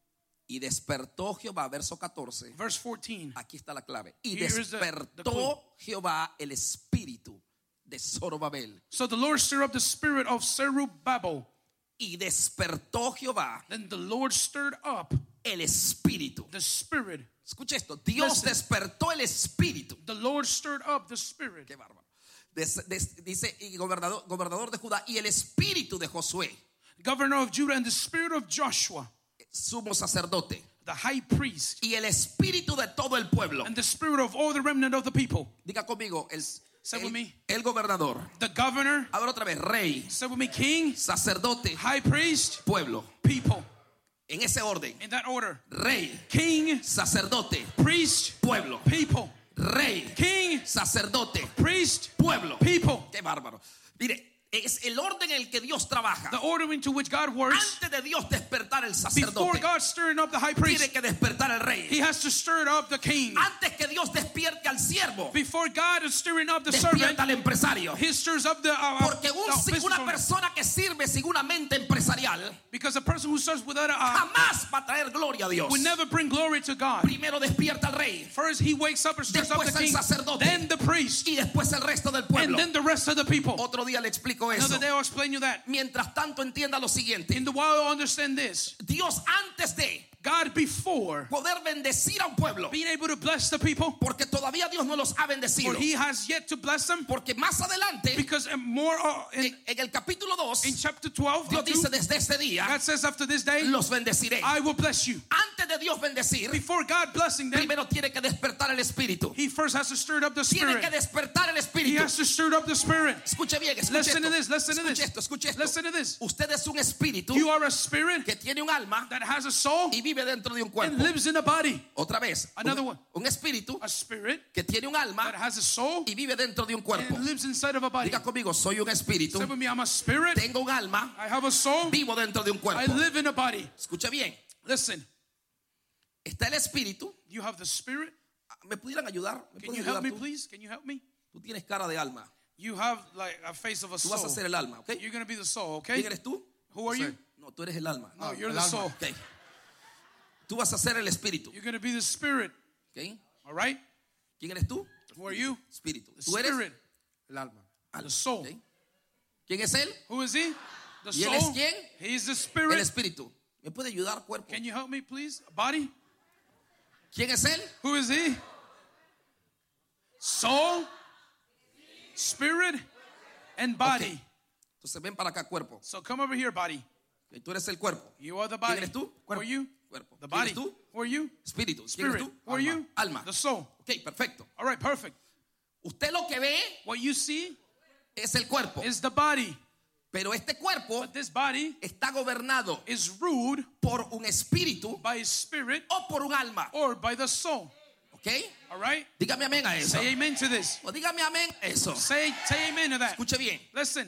Y despertó Jehová, verso catorce. Verse fourteen. Aquí está la clave. Y Here is the- the despertó Jehová el espíritu de Zorobabel. So the Lord stirred up the spirit of Zerubbabel. Y despertó Jehová Then the Lord stirred up el espíritu. the spirit. Escuche esto. Dios Listen. despertó el espíritu. The Lord stirred up the spirit. Qué bárbaro. Des- des- dice y gobernador, gobernador de Judá y el espíritu de Josué, Governor of Judah, and the spirit of Joshua, sumo sacerdote, the high priest, y el espíritu de todo el pueblo. and the spirit of all the remnant of the people. Diga conmigo, el, Say with el, me. el gobernador. The governor, A ver otra vez, rey, say with me, king, sacerdote, high priest, pueblo. people. En ese orden, In that order. rey, King, sacerdote, priest, pueblo. people. Rey, King, sacerdote, priest, pueblo. people. Qué bárbaro. Mire, es el orden en el que Dios trabaja. The order into which God works. Antes de Dios despertar el Before sacerdote, God stirring up the high tiene priest, que despertar el rey. he has to stir up the king. Antes que Dios despierte al siervo, Before God is stirring up the despierta servant, al empresario. he stirs up the, uh, Porque un- the business una owner. persona que sirve sin una mente empresarial Because a person who serves without a, uh, jamás va a traer gloria a Dios. will never bring glory to God. Primero despierta al rey First he wakes up and stirs up Después the el king, sacerdote. then the priest, y después el resto del and pueblo. then the rest of the people. Otro día le explico eso. Another day I'll explain you that. Mientras tanto, entienda lo siguiente. In the while, understand this. Dios, antes de God, before poder bendecir a un pueblo, being able to bless the people, porque todavía Dios no los ha bendecido, for he has yet to bless them, porque más adelante, because uh, more uh, in, en, en el capítulo dos, in chapter twelve, Dios uh, two, dice, desde este día God says after this day, los bendeciré. I will bless you. Antes de Dios bendecir, Before God blessing them, primero tiene que despertar el espíritu. he first has to stir up the Tiene que spirit. despertar el He espíritu. has to stir up the spirit. Escuche bien, escuche Listen to esto. this, listen to Escuche this. esto, escuche esto. Listen to this. Usted es un espíritu You are a spirit que tiene un alma that has a soul y vive dentro de un and cuerpo. lives in a body. Otra vez, Another un, one. un espíritu A spirit que tiene un alma that has a soul y vive dentro de un cuerpo. and lives inside of a body. Diga conmigo, soy un espíritu, Say with me, I'm a spirit. tengo un alma, I have a soul. vivo dentro de un I cuerpo. live in a body. Escucha bien, Listen, está el espíritu. you have the spirit. ¿Me pudieran ayudar? ¿Me Can puedes you ayudar help me, tú? please? Can you help me? Tú tienes cara de alma. You have like a face of a Tú vas a soul. ser el alma, ¿ok? You're going to be the soul, ¿Quién okay? eres tú? Who are No sé. you? No, tú eres el alma. No, you're el the alma. soul. Ok. Tú vas a ser el espíritu. You're going to be the spirit, ¿Ok? all right? ¿Quién eres tú? Who are you? Espíritu. The Tú eres spirit, el alma. the soul. ¿Ok? ¿Quién es él? Who is he? The ¿Y él es soul. quién? He's the El spirit. espíritu. ¿Me puede ayudar, cuerpo? Can you help me, please? Body. ¿Quién es él? Who is he? Soul, spirit, and body. Ok. Entonces ven para acá, cuerpo. So come over here, body. Okay, tú eres el cuerpo. You are the ¿Quién body. eres tú? Who are you? Cuerpo. The ¿Quién body. eres tú? Who are you? Espíritu. ¿Quién Spirit. eres tú? Who are Alma. you? Alma. The soul. Ok, perfecto. All right, perfect. Usted lo que ve What you see es el cuerpo. is the body. Pero este cuerpo But this body está gobernado is ruled por un espíritu by a spirit o por un alma. or by the soul. ¿Ok? All right? Dígame amén a eso. Say amen to this. O dígame amén a eso. Say, say amen to that. Escuche bien. Listen,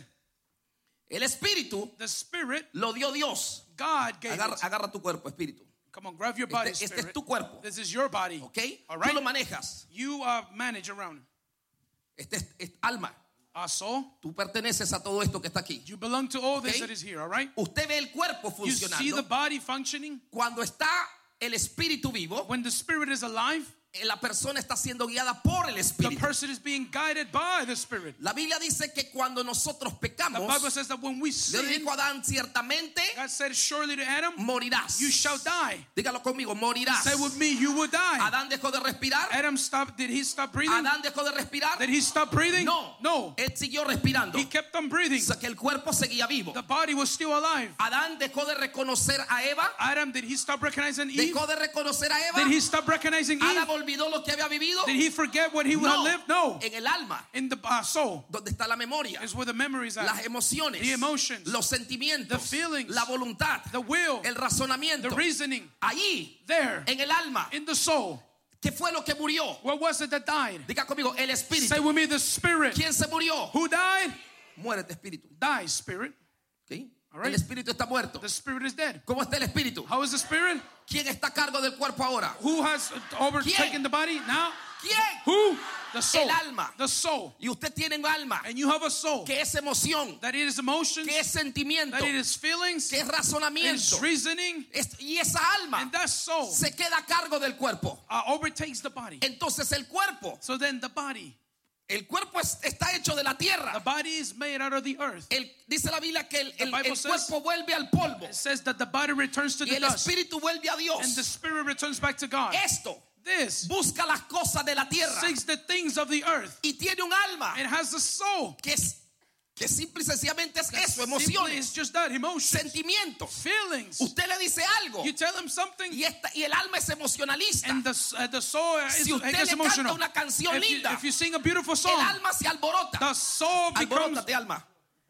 El espíritu the spirit, lo dio Dios. God gave Agarra, it. agarra tu cuerpo, espíritu. Come on, grab your body, Este, este spirit. es tu cuerpo. This is your body. ¿Ok? All Tú right? lo manejas. You uh, manage around. Este es, es alma. Our soul, Tú perteneces a todo esto que está aquí. you belong to all this Okay. that is here, all right? Usted ve el cuerpo You see the funcionando. body functioning. Cuando está el espíritu vivo, When the spirit is alive, la persona está siendo guiada por el the espíritu. person is being guided by the spirit. La Biblia dice que cuando nosotros The Bible pecamos, says that when we Dios sin, dijo a Adán, ciertamente God said surely to Adam, morirás. you shall die. Dígalo conmigo, morirás. Say with me, you will die. Adán dejó de respirar. Adam stopped, did he stop breathing? Adán dejó de respirar. Did he stop breathing? No, No. él siguió respirando. He kept on breathing. O sea que el cuerpo seguía vivo. The body was still alive. Adán dejó de reconocer a Eva. Adam, did he stop recognizing Eve? Dejó de reconocer a Eva. Did he stop recognizing Eve? Adán olvidó lo que había vivido. Did he forget what he would have No, lived? No. en el alma, In the uh, soul donde está la memoria, is where the memories are. las emociones, The emotions, los sentimientos, the feelings, la voluntad, the will, el razonamiento. the reasoning. Allí, There, en el alma, in the soul. ¿qué fue lo que murió? What was it that died? Diga conmigo, el Say espíritu. with me, the spirit. ¿Quién se murió? Who died? Muérete, espíritu. Dies, spirit. ¿Ok? All right. El espíritu está muerto. The spirit is dead. ¿Cómo está el espíritu? How is the spirit? ¿Quién está a cargo del cuerpo ahora? Who has overtaken ¿Quién? the body now? ¿Quién? Who? The soul. El alma. The soul. Y usted tiene un alma And you have a soul. que es emoción, That it is emotions. que es sentimiento, That it is feelings. que es It is razonamiento. reasoning. Es- y esa alma And that soul se queda a cargo del cuerpo. uh, overtakes the body. Entonces el cuerpo, So then the body. el cuerpo es- está hecho de la The tierra. body is made out of the earth. El- dice la Biblia que el, el- Bible el says- cuerpo vuelve al polvo It says that the body returns to y the el dust. espíritu vuelve a And the Dios. spirit returns back to God. Esto This busca las cosas de la tierra seeks the things of the earth. y tiene un alma It has a soul. que es que simple y sencillamente es eso, Simply emociones, it's just that, emotions, sentimientos. feelings. Usted le dice algo You tell them something, y, esta, y el alma es emocionalista. and the, uh, the soul is, Si usted gets le emotional. canta una canción If you, linda, if you sing a beautiful el song, alma se alborota. the soul becomes. Alborótate, alma.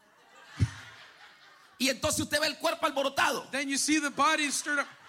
Y entonces usted ve el cuerpo alborotado. Then you see the body stirred up.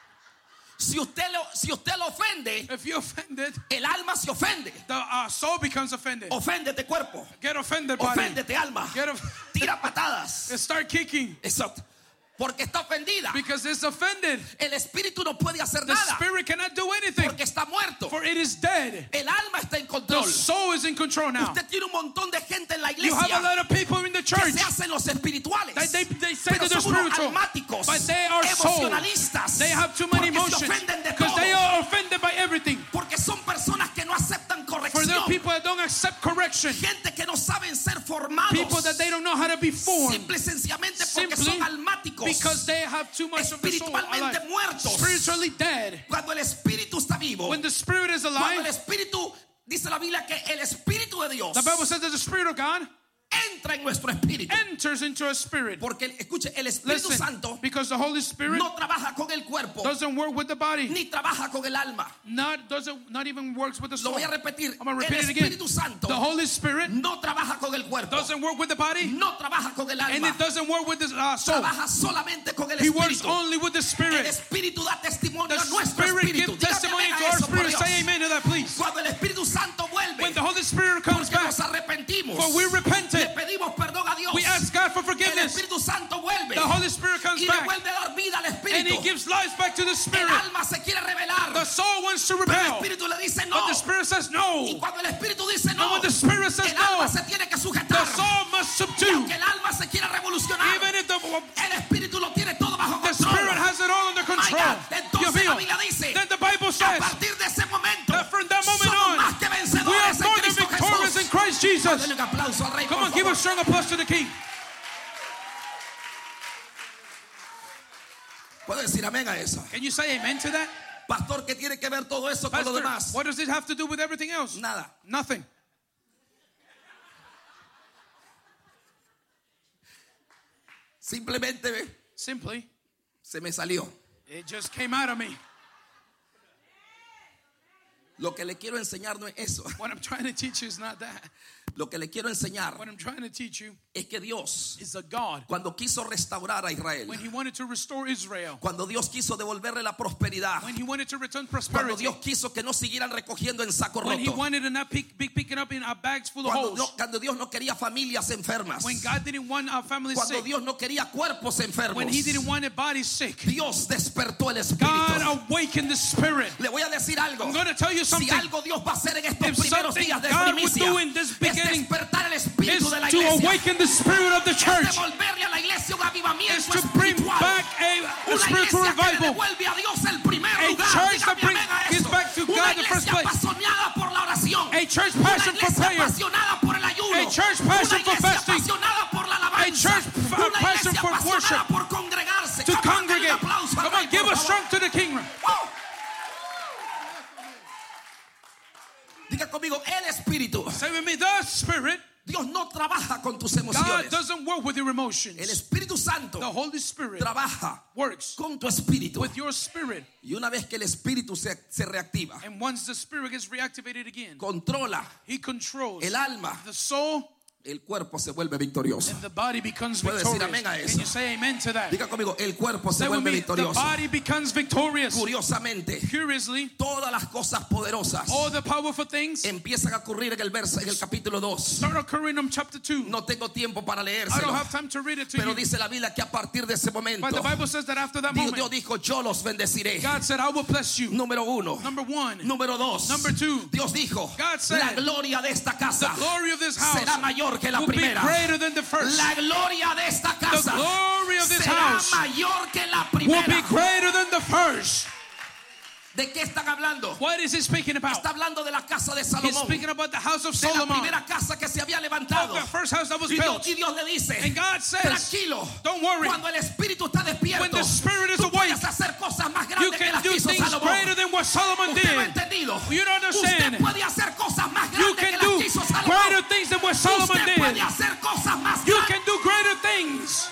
Si usted lo, si usted lo ofende, If you're offended, el alma se ofende. the uh, soul becomes offended. Oféndete, cuerpo. Get offended, body. Oféndete, alma. Get off- Tira patadas. Start kicking Exacto. Porque está ofendida. because it's offended. El espíritu no puede hacer The nada spirit cannot do anything, porque está muerto. for it is dead. El alma está en The control. soul is in control now. Usted tiene un montón de gente en la You have a iglesia lot of people in the que church se hacen los espirituales. that they, they say Pero that they're son unos spiritual, almáticos, but they are soul. emocionalistas. They have too many Porque se emotions ofenden de because todo. they are offended by everything. Porque son personas que no aceptan For corrección. there are people that don't accept correction, Gente que no saben ser formados. people that they don't know how to be formed, Simple y sencillamente porque simply son almáticos. because they have too much of the soul Espiritualmente alive. muertos. Spiritually dead. Cuando el espíritu está vivo. When the spirit is Cuando el alive, espíritu, dice la Biblia que el espíritu de Dios the Bible says that the spirit of God entra en nuestro espíritu. enters into a spirit. Porque, escuche, el Espíritu Listen, Santo because the Holy Spirit no trabaja con el cuerpo, doesn't work with the body, ni trabaja con el alma. not doesn't not even works with the Lo soul. voy a repetir. I'm gonna El repeat it again. Espíritu Santo The Holy Spirit no trabaja con el cuerpo, doesn't work with the body, no trabaja con el and alma. it doesn't work with the uh, soul. Trabaja solamente con el He works Espíritu. only with the El Spirit. Espíritu da testimonio The a nuestro Spirit espíritu. gives Dígame testimony amén to a our eso, por spirit. Dios. Say amen to that, please. Cuando el Espíritu Santo vuelve, When the Holy Spirit comes porque back, nos arrepentimos, for we repented, le pedimos perdón a Dios. we ask God for El forgiveness. Espíritu Santo vuelve The Holy Spirit comes y le back, vuelve a dar vida al and Espíritu. He gives life back to the El Spirit. alma se quiere revelar, The soul wants to pero el rebel, Espíritu le dice no. but the Spirit says Y no. cuando el Espíritu dice And no, when the Spirit says el alma no, se tiene que the sujetar. soul must Y subdue. aunque el alma se quiera revolucionar, Even if the, el Espíritu lo tiene todo bajo the control. Spirit has it all under My control. God, You entonces feel? la Biblia dice, Then the Bible a says partir de ese momento, that from that moment somos on, más que we are vencedores en more than Cristo victorious in Jesús. Christ Jesus. Denle un aplauso al Rey, Come por on, give a favor. strong applause to the King. ¿Puedo decir amén a eso? Can you say amen to that? Pastor, ¿qué tiene que ver todo eso con lo Pastor, demás? what does it have to do with everything else? Nada. Nothing. Simplemente ve, Simply, se me salió. it just came out of me. Lo que le quiero enseñar no es eso. What I'm trying to teach you is not that. Lo que le quiero enseñar What I'm trying to teach you es que Dios, is a God. cuando quiso restaurar a Israel, When he wanted to restore Israel, cuando Dios quiso devolverle la prosperidad, when he wanted to return cuando prosperity, Dios quiso que no siguieran recogiendo en saco when he roto, wanted to not pick, be picking up in our bags full of cuando, holes, no- cuando Dios no quería familias enfermas, when God didn't want our families cuando sick, Dios no quería cuerpos enfermos, when he didn't want a body sick, Dios despertó el espíritu. God awakened the spirit. Le voy a decir algo. I'm going to tell you Si something. algo Dios va a hacer en estos If primeros something días de God would primicia, do in this es beginning despertar el espíritu Is de la to iglesia, awaken the spirit of the es church. devolverle a la iglesia un Is avivamiento to bring espiritual. back a, a Una spiritual iglesia que le revival. devuelve a Dios el primer A lugar. church that Dígame brings- amén a gives eso. back to Una God the first iglesia place. apasionada por la oración. A church Una passion for iglesia prayer. apasionada por el ayuno. A church Una passion for iglesia fasting. apasionada por la alabanza. A church f- Una passion iglesia for apasionada worship. por congregarse. To Come on, denle un congregate. aplauso al Come Rey, on, give por a favor. strong to the kingdom. Wow. Diga conmigo, el espíritu. Say with me, the spirit. Dios no trabaja con tus God emociones. doesn't work with your emotions. El Espíritu Santo The Holy Spirit trabaja works con tu espíritu. with your spirit. Y una vez que el espíritu se, se reactiva, And once the spirit gets reactivated again, controla he controls el alma, the soul, el cuerpo se vuelve victorioso. and the body becomes Puede decir victorious. amén a eso. Can you say amen to that? Diga conmigo, el cuerpo se Say with vuelve me, the victorioso. body becomes victorious. Curiosamente, Curiously, todas las cosas poderosas all the powerful things empiezan a ocurrir en el verso, en el capítulo dos. start occurring in chapter two. No tengo tiempo para I don't leérselo, have time to read it to pero you. dice la Biblia que a partir de ese momento, But the Bible says that after that Dios, moment, Dios dijo, yo los bendeciré. God said, I will bless you. Número uno. Number one, Número dos. Number two. Dios dijo, God said, la gloria de esta casa the glory of this house será mayor que la will be primera. greater than the first. La gloria de esta casa The glory of this será house mayor que la will be primera. greater than the first. ¿De qué están hablando? What is he speaking about? Está hablando de la casa de He's Salomón, speaking about the house of de la Solomon, primera casa que se había levantado. the first house that was Y Dios, built. y Dios le dice, And God says, tranquilo, don't worry. cuando el espíritu está despierto, When the spirit is tú awake, puedes hacer cosas más You grandes que can las do que hizo things Salomón. greater than what Solomon Usted lo ha did. entendido. You don't understand. Usted puede hacer cosas más You grandes que can las do que hizo Salomón. greater things than what Solomon Usted puede did. hacer cosas más You grandes. can do greater things.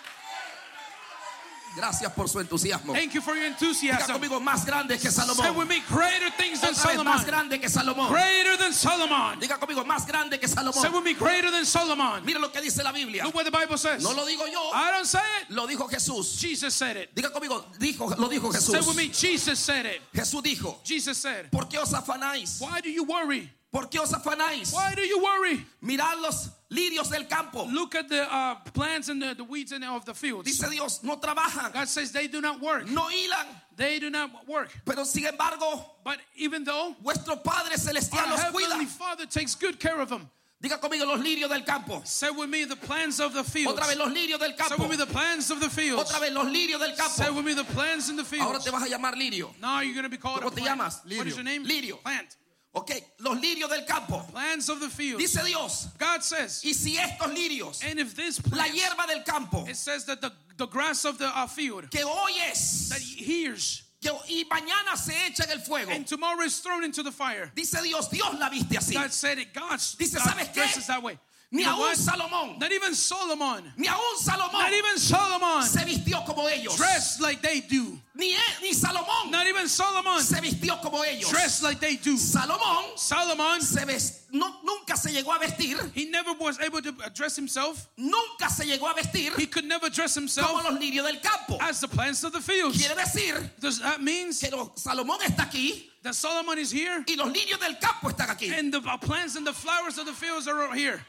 Gracias por su entusiasmo. Thank you for your Diga enthusiasm. conmigo, más grande que Say Salomón. with me, greater things than Otra vez, más Solomon. grande que Salomón. Greater than Solomon. Diga conmigo, más grande que Say Salomón. with me, greater than Solomon. Mira lo que dice la Biblia. Look what the Bible says. No lo digo yo, I don't say it. lo dijo Jesús. Jesus said it. Diga conmigo, dijo, lo dijo Say with Jesús. me, Jesus said it. Jesús dijo, Jesus said, ¿por qué os afanáis? why do you worry? ¿Por qué os afanáis? Why do you worry? Mirad los lirios del campo. Look at the uh, plants and the, the weeds in, of the fields. Dice Dios, no trabajan, God says they do not work. no hilan, They do not work. pero sin embargo, But even though vuestro Padre our Celestial los cuida. Heavenly Father takes good care of them. Diga conmigo, los lirios del campo. Say with me the plans of the fields. Otra vez, los lirios del Say campo. with me the plans of the fields. Otra vez, los lirios del Say campo. with me the plans in the Ahora fields. te vas a llamar lirio. Now you're going to be called a ¿Cómo te plant. llamas? What is your name? Lirio. Plant. Ok, los lirios del campo. Plans of the fields. Dice Dios, God says, y si estos lirios, and if this la plant, hierba del campo, it says that the, the grass of the uh, field que hoy es, that he hears que, y mañana se echa en el fuego. and tomorrow is thrown into the fire. Dice Dios, Dios la viste así. God said it. God, Dice, God ¿sabes qué? dresses that way. Ni You know aún what? Salomón, Not even Solomon. ni aún Salomón Not even Solomon se vistió como ellos. dressed like they do. Ni, ni Salomón Not even Solomon se vistió como ellos. dressed like they do. Salomón Solomon, se ves, no, nunca se llegó a vestir, he never was able to dress himself. nunca se llegó a vestir He could never dress como himself los lirios del campo. as the plants of the fields. Quiere decir Does that mean que los- Salomón está aquí that Solomon is here y los lirios del campo están aquí. and the plants and the flowers of the fields are here?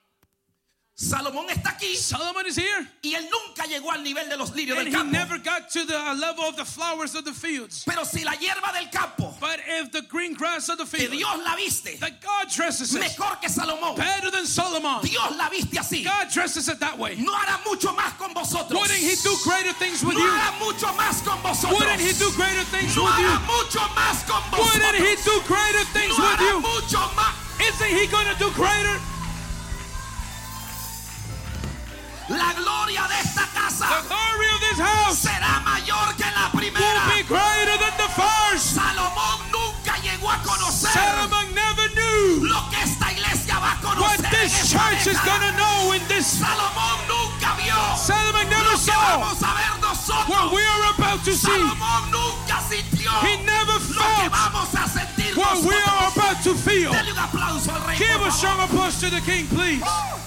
Salomón está aquí Solomon is here y él nunca llegó al nivel de los lirios and del he campo. never got to the uh, level of the flowers of the fields. Pero si la hierba del campo, But if the green grass of the que field, Dios la viste that God dresses it mejor que Salomón, better than Solomon, Dios la viste así, God dresses it that way. no hará mucho más con vosotros. Wouldn't he do greater things with No you? hará mucho más con vosotros. Wouldn't he do greater things No with hará you? mucho más con vosotros. Wouldn't he do greater things No with hará you? mucho más. Isn't he going to do greater? La gloria de esta casa The glory of this house será mayor que la will primera. be greater than the first. Salomón nunca llegó a conocer Solomon never knew lo que esta iglesia va a what conocer en this esta church is década. going to know in this. Salomón nunca vio Solomon never lo que saw, vamos a ver nosotros. what we are about to see, Salomón nunca sintió he never lo que felt vamos a sentir what we are nosotros. about to feel. Dele un aplauso al rey. Give por a favor. strong applause to the King, please.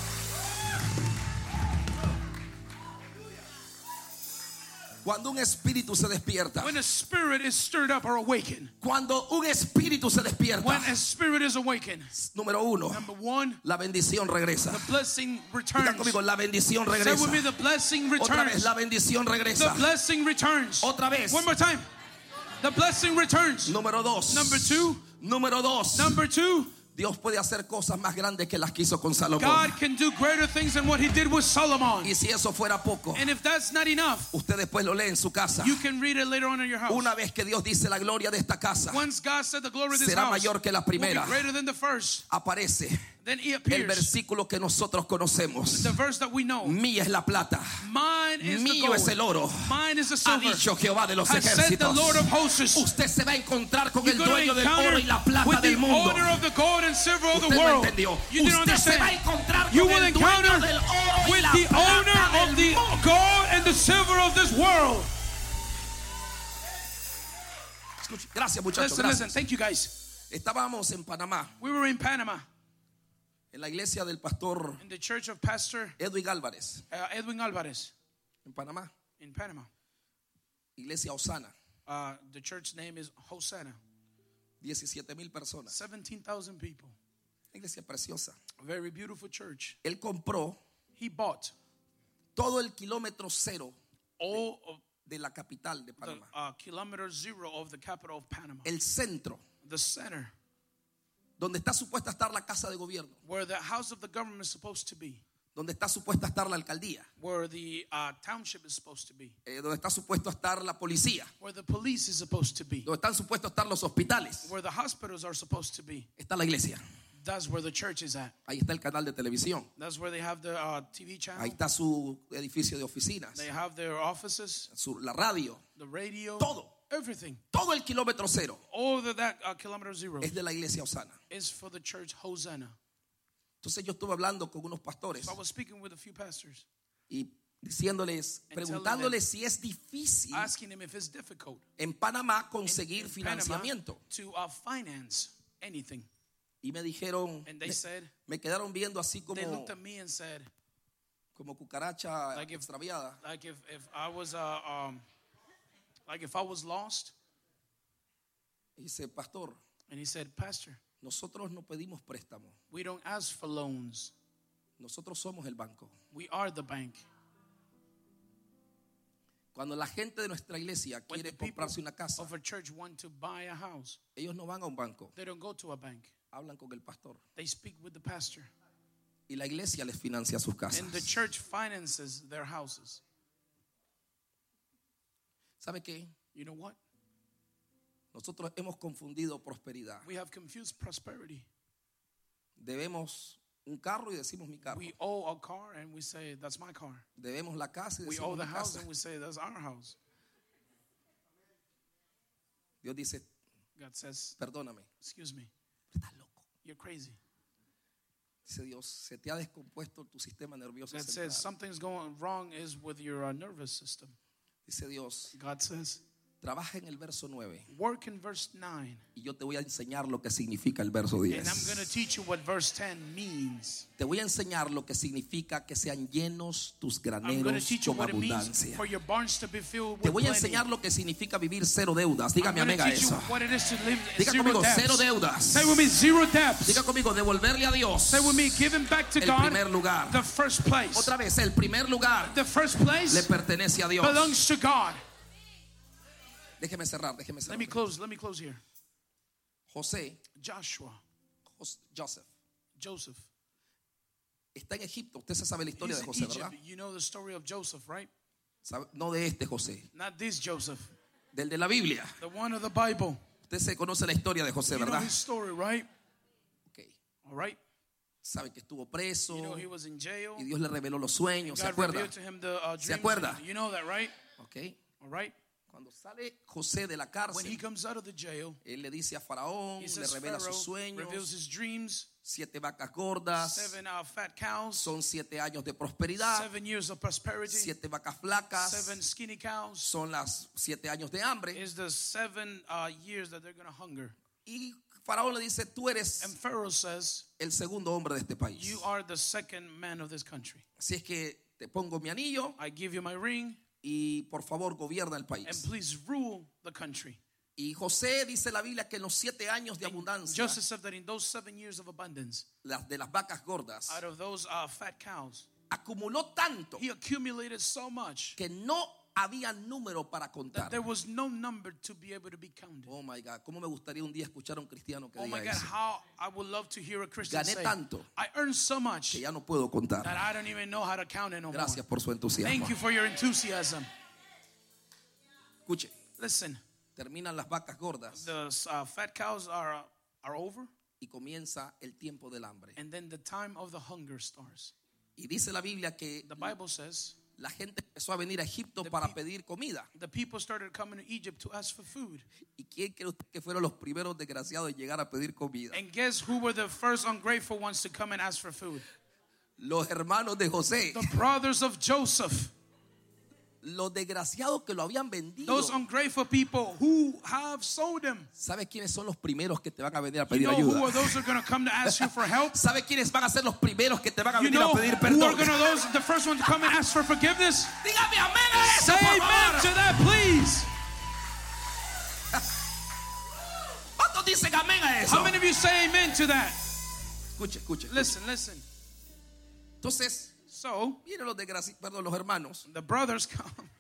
Cuando un espíritu se despierta, When a spirit is stirred up or awakened, cuando un espíritu se despierta, when a spirit is awakened, número uno, number one, la bendición regresa. the blessing Diga returns. conmigo, la bendición Say regresa. with me, the blessing Otra vez, returns. la bendición The regresa. blessing returns. Otra vez. One more time. The blessing returns. Número dos. Number two. Número dos. Number two, Dios puede hacer cosas más grandes que las que hizo con Salomón. God can do greater things than what he did with Solomon. Y si eso fuera poco, And if that's not enough, usted después lo lee en su casa. you can read it later on in your house. Una vez que Dios dice la gloria de esta casa Once God said the glory of this será house mayor que la will be primera, greater than the first, aparece then he el appears. versículo que nosotros conocemos. The verse that we know. Mía es la plata, Mine is the mío gold. es el oro, Mine is the ha silver. dicho Jehová de los Has said the ejércitos. Lord of hosts. Usted se va a encontrar con You're el going dueño to del encounter oro y la plata with the del mundo. owner of the gold and silver of the Usted no world. entendió. You didn't Usted se va a understand. encontrar You con will el encounter dueño del oro y with la the plata owner del of the mundo. gold and the silver of this world. Escuche, gracias muchachos. Listen, listen. Gracias. Thank you guys. Estábamos en Panamá, We were in Panama en la iglesia del pastor in the church of Pastor Edwin Álvarez, uh, Edwin Alvarez en Panamá, in Panama. iglesia Osana, Uh, the church name is Hosanna. diecisiete mil personas, seventeen thousand people. una iglesia preciosa. A very beautiful church. Él compró He bought todo el kilómetro cero all of de la capital de the Panamá, uh, kilometer zero of the capital of Panama. el centro, The center donde está supuesta a estar la casa de gobierno, where the house of the government is supposed to be. donde está supuesta a estar la alcaldía, Where the uh, township is supposed to be. eh, donde está supuesto a estar la policía, Where the police is supposed to be. donde están supuestos a estar los hospitales. Where the hospitals are supposed to be. Está la iglesia. That's where the church is at. Ahí está el canal de televisión. That's where they have the uh, T V Ahí channel. está su edificio de oficinas, They have their offices, su- la radio. the radio, Todo. everything. Todo el kilómetro cero All of that uh, kilometer zero es de la iglesia Osana. is for the church Hosanna. Entonces yo estuve hablando con unos pastores So I was speaking with a few pastors, y diciéndoles, And telling preguntándoles si es difícil asking them if it's difficult en Panamá conseguir in Panama financiamiento. to uh, finance anything. Y me dijeron, And they me, said, me quedaron viendo así como, they looked at me and said, como cucaracha Like if- extraviada. like if, if I was uh, um, like if I was lost. Y dice, pastor, And he said, Pastor, nosotros no pedimos préstamo. we don't ask for loans. Nosotros somos el banco. We are the bank. Cuando la gente de nuestra iglesia When quiere the people comprarse una casa, of a church want to buy a house, ellos no van a un banco, they don't go to a bank. hablan con el pastor. They speak with the pastor. Y la iglesia les financia sus casas. And the church finances their houses. ¿Sabe qué? You know what? Nosotros hemos confundido prosperidad. We have confused prosperity. Debemos un carro y decimos mi carro. We owe a car and we say, that's my car. Debemos la casa y We owe decimos the mi house casa. and we say, that's our house. Dios dice, God says, perdóname, excuse me, estás loco. you're crazy. Dice Dios, se te ha descompuesto tu sistema nervioso God central. says, something's going wrong is with your uh, nervous system. Dice Dios, God says, trabaja en el verso nueve work in verse nine. y yo te voy a enseñar lo que significa el verso And I'm going diez. to teach you what verse ten means. Te voy a enseñar lo que significa que sean llenos tus I'm going to graneros teach you con what it means abundancia. for your barns to be filled Te with voy a plenty. enseñar lo que significa vivir cero deudas. I'm Dígame going amiga to teach you eso. what it is to live Diga zero conmigo, cero debts. deudas. Say with me, zero debts. Diga conmigo, devolverle a Dios Say with me, giving back to el God primer lugar. the first place. Otra vez, el primer lugar The first le place pertenece a Dios. belongs to God. Déjeme cerrar, déjeme Let cerrar. me close. Let me close here. José, Joshua, Jos- Joseph, Joseph. está en Egipto. Usted se sabe la historia He's de in José, Egypt. ¿verdad? You know the story of Joseph, right? ¿Sabe? No de este José, Not this Joseph, del de la Biblia. the one of the Bible. Usted se conoce la historia de José, You know ¿verdad? his story, right? Okay. All right. Sabe que estuvo preso You know he was in jail. y Dios le reveló los sueños. ¿Se God acuerda? revealed to him the uh, ¿Se dreams. acuerda? You know that, right? Okay. All right. Cuando sale José de la when he cárcel, comes out of the jail, él le dice a Faraón, he le says revela sus Pharaoh reveals sueños, his dreams, siete vacas gordas, seven uh, fat cows, son siete años de prosperidad, seven years of prosperity, siete vacas flacas, seven skinny cows, son las siete años de hambre. is the seven uh, years that they're going to hunger. Y Faraón le dice, tú eres And Pharaoh says, el segundo hombre de este país. you are the second man of this country. Así es que te pongo mi anillo I give you my ring, y por favor gobierna el and país. please rule the country. Y José dice la Biblia que en los siete años de abundancia, Joseph said that in those seven years of abundance, las de las vacas gordas, out of those uh, fat cows, acumuló tanto he accumulated so much que no había número para that contar. there was no number to be able to be counted. Oh my God, cómo me gustaría un día escuchar a un cristiano que Oh my diga God, eso. how I would love to hear a Christian Gané say, tanto I earned so much que ya no puedo contar. that I don't even know how to count it no more. Gracias por su entusiasmo. Thank you for your enthusiasm. Escuche, Listen, terminan las vacas gordas the uh, fat cows are uh, are over, y comienza el tiempo del hambre. and then the time of the hunger starts. Y dice la Biblia que The Bible says la gente empezó a venir a Egipto The para peop- pedir comida. the people started coming to Egypt to ask for food. ¿Y quién cree usted que fueron los primeros desgraciados en llegar a pedir comida? And guess who were the first ungrateful ones to come and ask for food? Los hermanos de José. The brothers of Joseph. Los desgraciados que lo habían vendido. Those ungrateful people who have sold him. ¿Sabes quiénes son los primeros que te van a venir a You pedir know who are ayuda? those who are going to come to ask you for help? ¿Sabes quiénes van a ser los primeros que te van a You venir know a pedir who are perdón? going to those the first one to come and ask for forgiveness? Dígame amén a eso, Say por amen favor. to that, please. ¿Cuántos dicen amén a eso? How many of you say amen to that? Escuche, escuche. Listen, listen. Entonces, So miren los desgraciados, perdón, los hermanos. the brothers come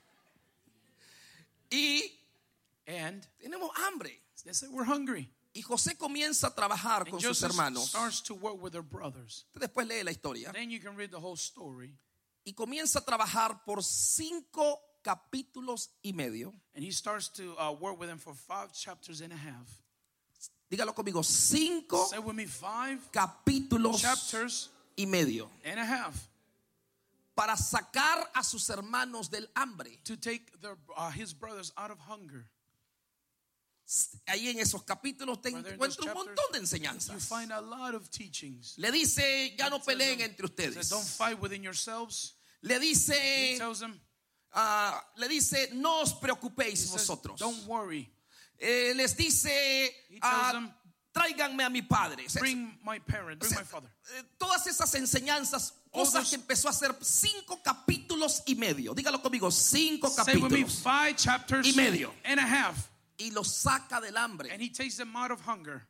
Y and tenemos hambre. they say we're hungry. Y José comienza a trabajar And con sus Joseph hermanos. starts to work with their brothers. Usted después lee la historia. Then you can read the whole story. Y comienza a trabajar por cinco capítulos y medio. And he starts to uh, work with them for five chapters and a half. Dígalo conmigo, cinco Say with me, five capítulos chapters y medio. and a half Para sacar a sus hermanos del hambre. to take their, uh, his brothers out of hunger. Ahí en esos capítulos te Brother, in those encuentras un chapters, montón de You enseñanzas. find a lot of teachings. Le dice, ya no peleen entre He says, ustedes. don't fight within yourselves. Le He dice, tells them, ah, le dice, no os he preocupéis says, vosotros. don't worry. Eh, les dice, He tells ah, them, tráiganme a mi padre. O sea, bring my parent, bring my father. eh, todas esas enseñanzas, All cosas those- que empezó a hacer cinco capítulos y medio. Dígalo conmigo, cinco Say with me, capítulos. five chapters Y medio. and a half. Y los saca del hambre. And he takes them out of hunger.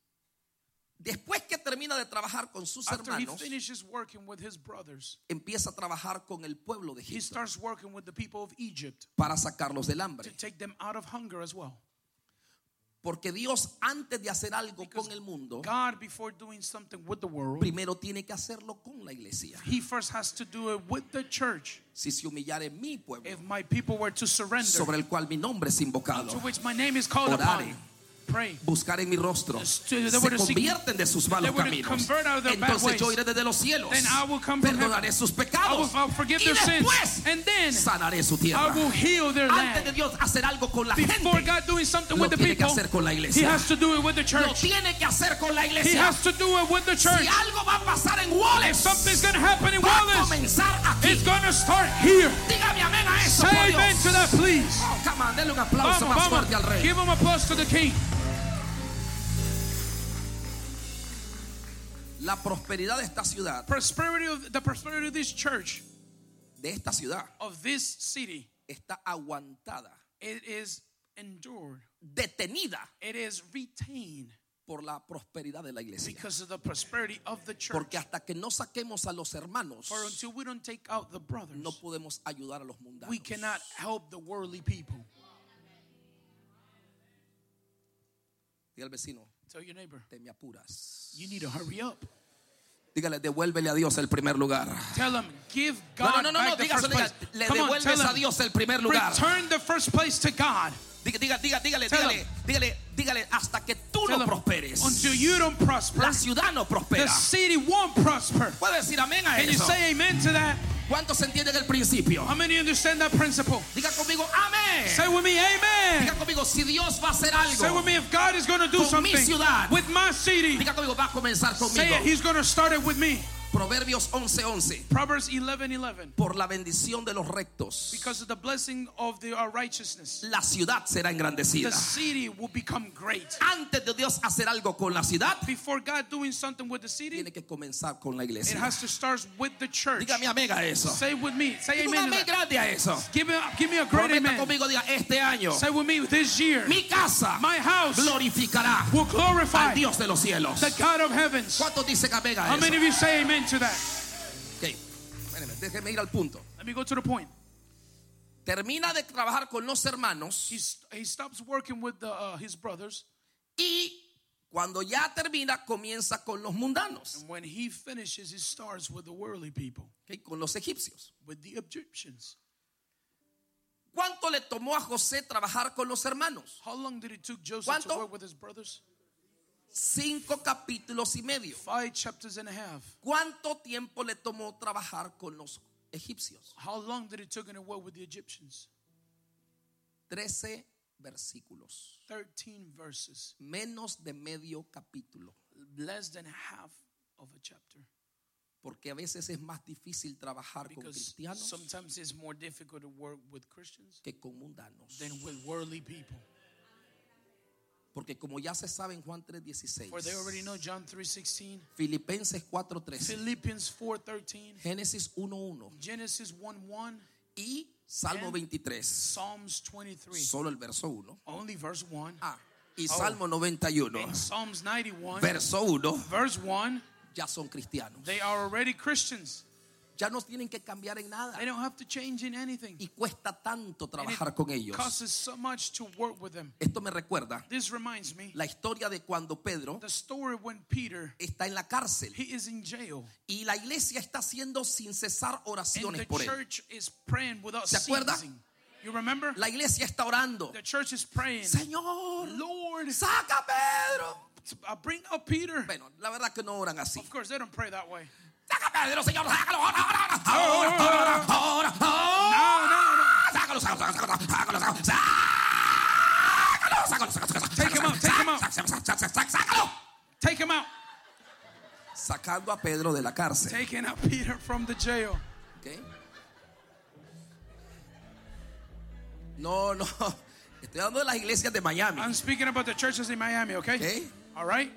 Después que termina de trabajar con sus After he hermanos, finishes working with his brothers, empieza a trabajar con el pueblo de he Egipto starts working with the people of Egypt para sacarlos del to hambre. take them out of hunger as well. Porque Dios, antes de hacer algo Because con el mundo, God, before doing something with the world, primero tiene que hacerlo con la iglesia. he first has to do it with the church. Si se humillare mi pueblo, If my people were to surrender, sobre el cual mi nombre es invocado, to which my name is called Orare. upon, pray. buscar en mi rostro, They se were to seek- convierten de sus malos they were to caminos, convert out of their bad entonces yo ways. iré desde los cielos, Then I will come from perdonaré heaven. sus I will, pecados I will forgive y their sins, después and then sanaré su I tierra. will heal their Antes de land. Dios hacer algo con la Before gente, God doing something lo with the tiene que people, hacer con la he iglesia. has to do it with the Lo church. tiene que hacer con la He iglesia. has to do it with the Si church. algo va a pasar en If Wallace, something's going to happen in va a Wallace, comenzar aquí. it's going to start here. Dígame amén a eso, por Say Dios. amen to that, please. Oh, come on, denle un aplauso Vamos, más fuerte al vamos. rey. Give him applause to the king. La prosperidad de esta ciudad, Prosperity of the prosperity of this church, de esta ciudad, of this city, está aguantada, it is endured. detenida It is retained por la prosperidad de la iglesia. because of the prosperity of the church. Porque hasta que no saquemos a los hermanos, For until we don't take out the brothers, no podemos ayudar a los mundanos. we cannot help the worldly people. Diga al vecino, Tell your neighbor, te me apuras. you need to hurry up. Dígale, devuélvele a Dios el primer lugar. Tell them, give No, God no, no, no, back no, the dígaselo, first place. dígale, le Come on, devuelves tell a them, Dios el primer lugar. return the first place to God. Diga, diga, diga, dígale, Tell dígale, dígale, dígale, hasta que tú Tell no them, prosperes, until you don't prosper, la ciudad no the prospera. city won't prosper. ¿Puede decir amén a Can you eso? say amen to that? ¿Cuántos entienden el principio? How many understand that principle? Diga conmigo, amén. amén. Say with me, amen. Diga conmigo, si Dios va a hacer algo Say with me, if God is going to do con mi something ciudad, with my city, diga conmigo, va a comenzar say it, conmigo. he's going to start it with me. Proverbios once once. Proverbs eleven eleven. Por la bendición de los rectos, Because of the blessing of the uh, righteousness, la ciudad será engrandecida. the city will become great. Antes de Dios hacer algo con la ciudad, Before God doing something with the city, tiene que comenzar con la it iglesia. has to start with the church. Dígame amén a eso. Say with me. Say Diga un amen to amén that. grande a eso. Give me, give me a great Prometa amen. conmigo, diga, este año Say with me, this year, mi casa my house glorificará will glorify al Dios de los cielos. the God of heavens. ¿Cuántos dicen amén a How eso? many of you say amen to that? Ok, espérenme, déjeme ir al punto. Let me go to the point. Termina de trabajar con los hermanos He's, he stops working with the, uh, his brothers, y cuando ya termina comienza con los mundanos, and when he finishes, he starts with the worldly people, ok, con los egipcios. with the Egyptians. ¿Cuánto le tomó a José trabajar con los hermanos? How long did it took Joseph ¿Cuánto? to work with his brothers? Cinco capítulos y medio. Five chapters and a half. ¿Cuánto tiempo le tomó trabajar con los egipcios? How long did it took him to work with the Egyptians? Trece versículos. Thirteen verses. Menos de medio capítulo. Less than half of a chapter. Porque a veces es más difícil trabajar con Because cristianos sometimes it's more difficult to work with Christians que con mundanos. than with worldly people. Porque como ya se sabe en Juan tres dieciséis, For they already know John three sixteen, Filipenses cuatro trece, Philippians four thirteen, Génesis uno uno Genesis one one, y Salmo and veintitrés, Psalms twenty-three. solo el verso uno. Only verse one. Ah, y Oh. Salmo noventa y uno, And Psalms ninety-one, verso uno, verse one, ya son cristianos. they are already Christians. Ya no tienen que cambiar en nada. They don't have to change in anything. Y cuesta tanto And trabajar con it ellos. costs so much to work with them. Esto me recuerda This reminds me la historia de cuando Pedro the story when Peter, está en la cárcel he is in jail, y la iglesia está haciendo sin cesar and oraciones the por él. church is praying without ¿Se acuerda? ceasing. You remember? La iglesia está orando. The church is praying, Señor, Lord, saca a Pedro. uh, bring up Peter. Bueno, la verdad que no oran así. Of course, they don't pray that way. Saca a Pedro, Señor, sácalo. Ahora, ahora, ahora, ahora, ahora, ahora. No, no, no. Sácalo, sácalo, sácalo, sácalo, sácalo. Sácalo, sácalo, sácalo. Take him out, take him out. Sácalo. Take him out. Sacando a Pedro de la cárcel. Taking out Peter from the jail. ¿Okay? No, no. Estoy hablando de las iglesias de Miami. I'm speaking about the churches in Miami, okay? ¿Okay? All right?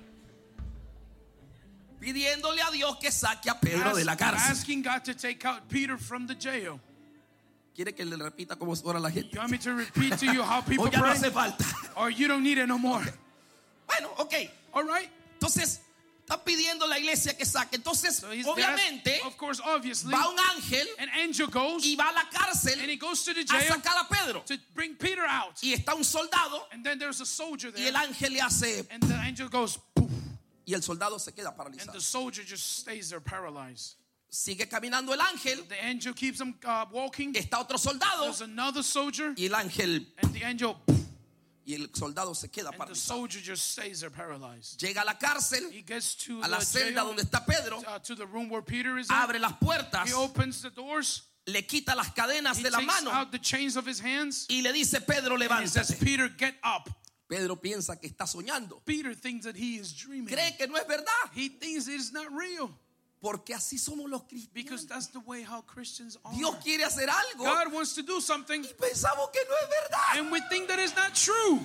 Pidiéndole a Dios que saque a Pedro Ask- de la cárcel. asking God to take out Peter from the jail. ¿Quiere que le repita cómo ora la gente? You want me to repeat to you how people O ya no pray? hace falta. Or you don't need it no more. Bueno, ok. All right? Entonces, está pidiendo a la iglesia que saque. Entonces, So he's obviamente, asked- of course, obviously, va un ángel an angel goes y va a la cárcel and he goes to the a jail sacar a Pedro. to bring Peter out. Y está un soldado And then there's a soldier y there. el ángel le hace And the angel goes, poof. y el soldado se queda And paralizado. the soldier just stays there paralyzed. Sigue caminando el ángel, The angel keeps him uh, walking. está otro soldado There's another soldier. y el ángel And the angel, poof, y el soldado se queda and the paralizado. soldier just stays there paralyzed. Llega a la cárcel, He gets to a la the celda jail, donde está Pedro, uh, to the room where Peter is in. abre las puertas, He opens the doors. le quita las cadenas He de la takes mano out the chains of his hands. y le dice, Pedro, And he says, levántate. Peter, get up. Pedro piensa que está soñando. Peter thinks that he is dreaming. Cree que no es verdad. He thinks it is not real. Porque así somos los Because cristianos. that's the way how Christians are. Dios quiere hacer algo God wants to do something, y pensamos que no es verdad. and we think that is not true.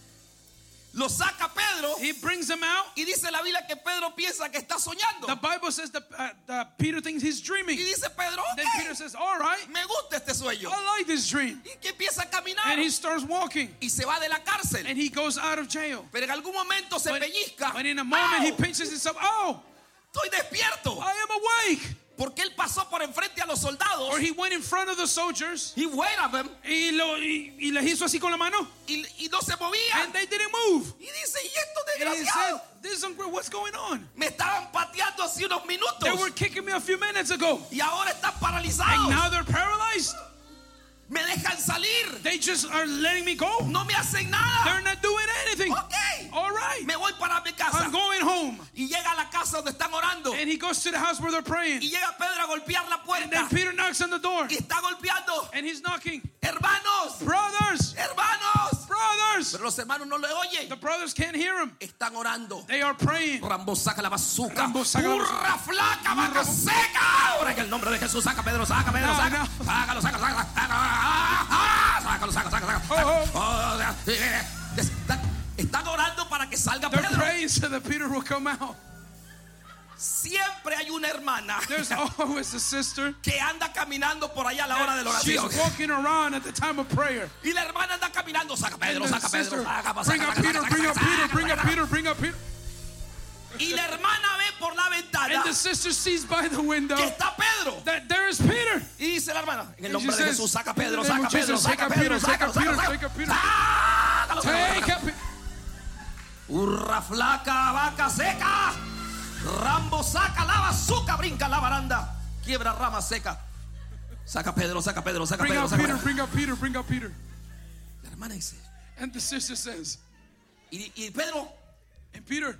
Lo saca Pedro He brings him out. y dice la Biblia que Pedro piensa que está soñando. The Bible says that, uh, that Peter thinks he's dreaming. Y dice Pedro, Then Peter ok, says, all right, me gusta este sueño. I like this dream. Y que empieza a caminar And he starts walking. y se va de la cárcel. And he goes out of jail. Pero en algún momento se But, pellizca. but in a moment, he ¡Au! pinches himself. Oh, Estoy despierto. I am awake. Porque él pasó por enfrente a los soldados. Or he went in front of the soldiers. He waited at them Y, lo, y, y les hizo así con la mano. y, y no se movía. And they didn't move. Y dice, ¿y estos And he said, desgraciados? this is unreal. What's going on? Me estaban pateando hace unos They minutos were kicking me a few minutes ago. y ahora están And paralizados. now they're paralyzed. Me dejan salir. They just are letting me go. No me hacen nada. They're not doing anything. Ok. All right. Me voy para mi casa. I'm going home. Y llega a la casa donde están orando. And he goes to the house where they're praying. Y llega Pedro a golpear la And then puerta. Peter knocks on the door. Y está golpeando. And he's knocking. Hermanos, Brothers, los hermanos no le oyen. The brothers can't hear him. Están orando. They are praying. Rambo saca la bazooka. Rambo saca la Burra flaca, vaca seca. Ahora en el nombre de Jesús, saca Pedro, saca Pedro, No, saca. no. Sácalo, saca, saca, saca. Ah, sácalo, saca, saca, saca. Oh, Oh, están, están orando para que salga They're Pedro. praying so that Peter will come out. Siempre hay una hermana There's always a sister. que anda caminando por allá a la hora de la She's oración. walking around at the time of prayer. Y la hermana anda caminando, saca And Pedro, the saca sister, Pedro, saca, bring saca, up saca, Peter, saca, bring up saca, Peter, saca, bring up saca. Peter, bring up Peter. Y la hermana ve por la ventana And the sister sees by the window que está Pedro. that there is Peter. Y dice la hermana, en el And she nombre de says, Jesús, saca in the Pedro, name saca of Pedro, Jesus, saca take up Pedro, Peter, saca, take up saca, Peter, saca. take up Peter. Sácalo, sácalo, Take sácalo. up Peter. Burra flaca, vaca seca. Rambo saca la bazooka, brinca la baranda, quiebra rama seca. Saca Pedro, saca Pedro, saca Bring Pedro, up saca Peter, Pedro. bring up Peter, bring up Peter. La hermana dice, And the sister says, y, y Pedro, and Peter,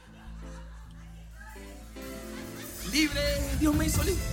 libre, Dios me hizo libre.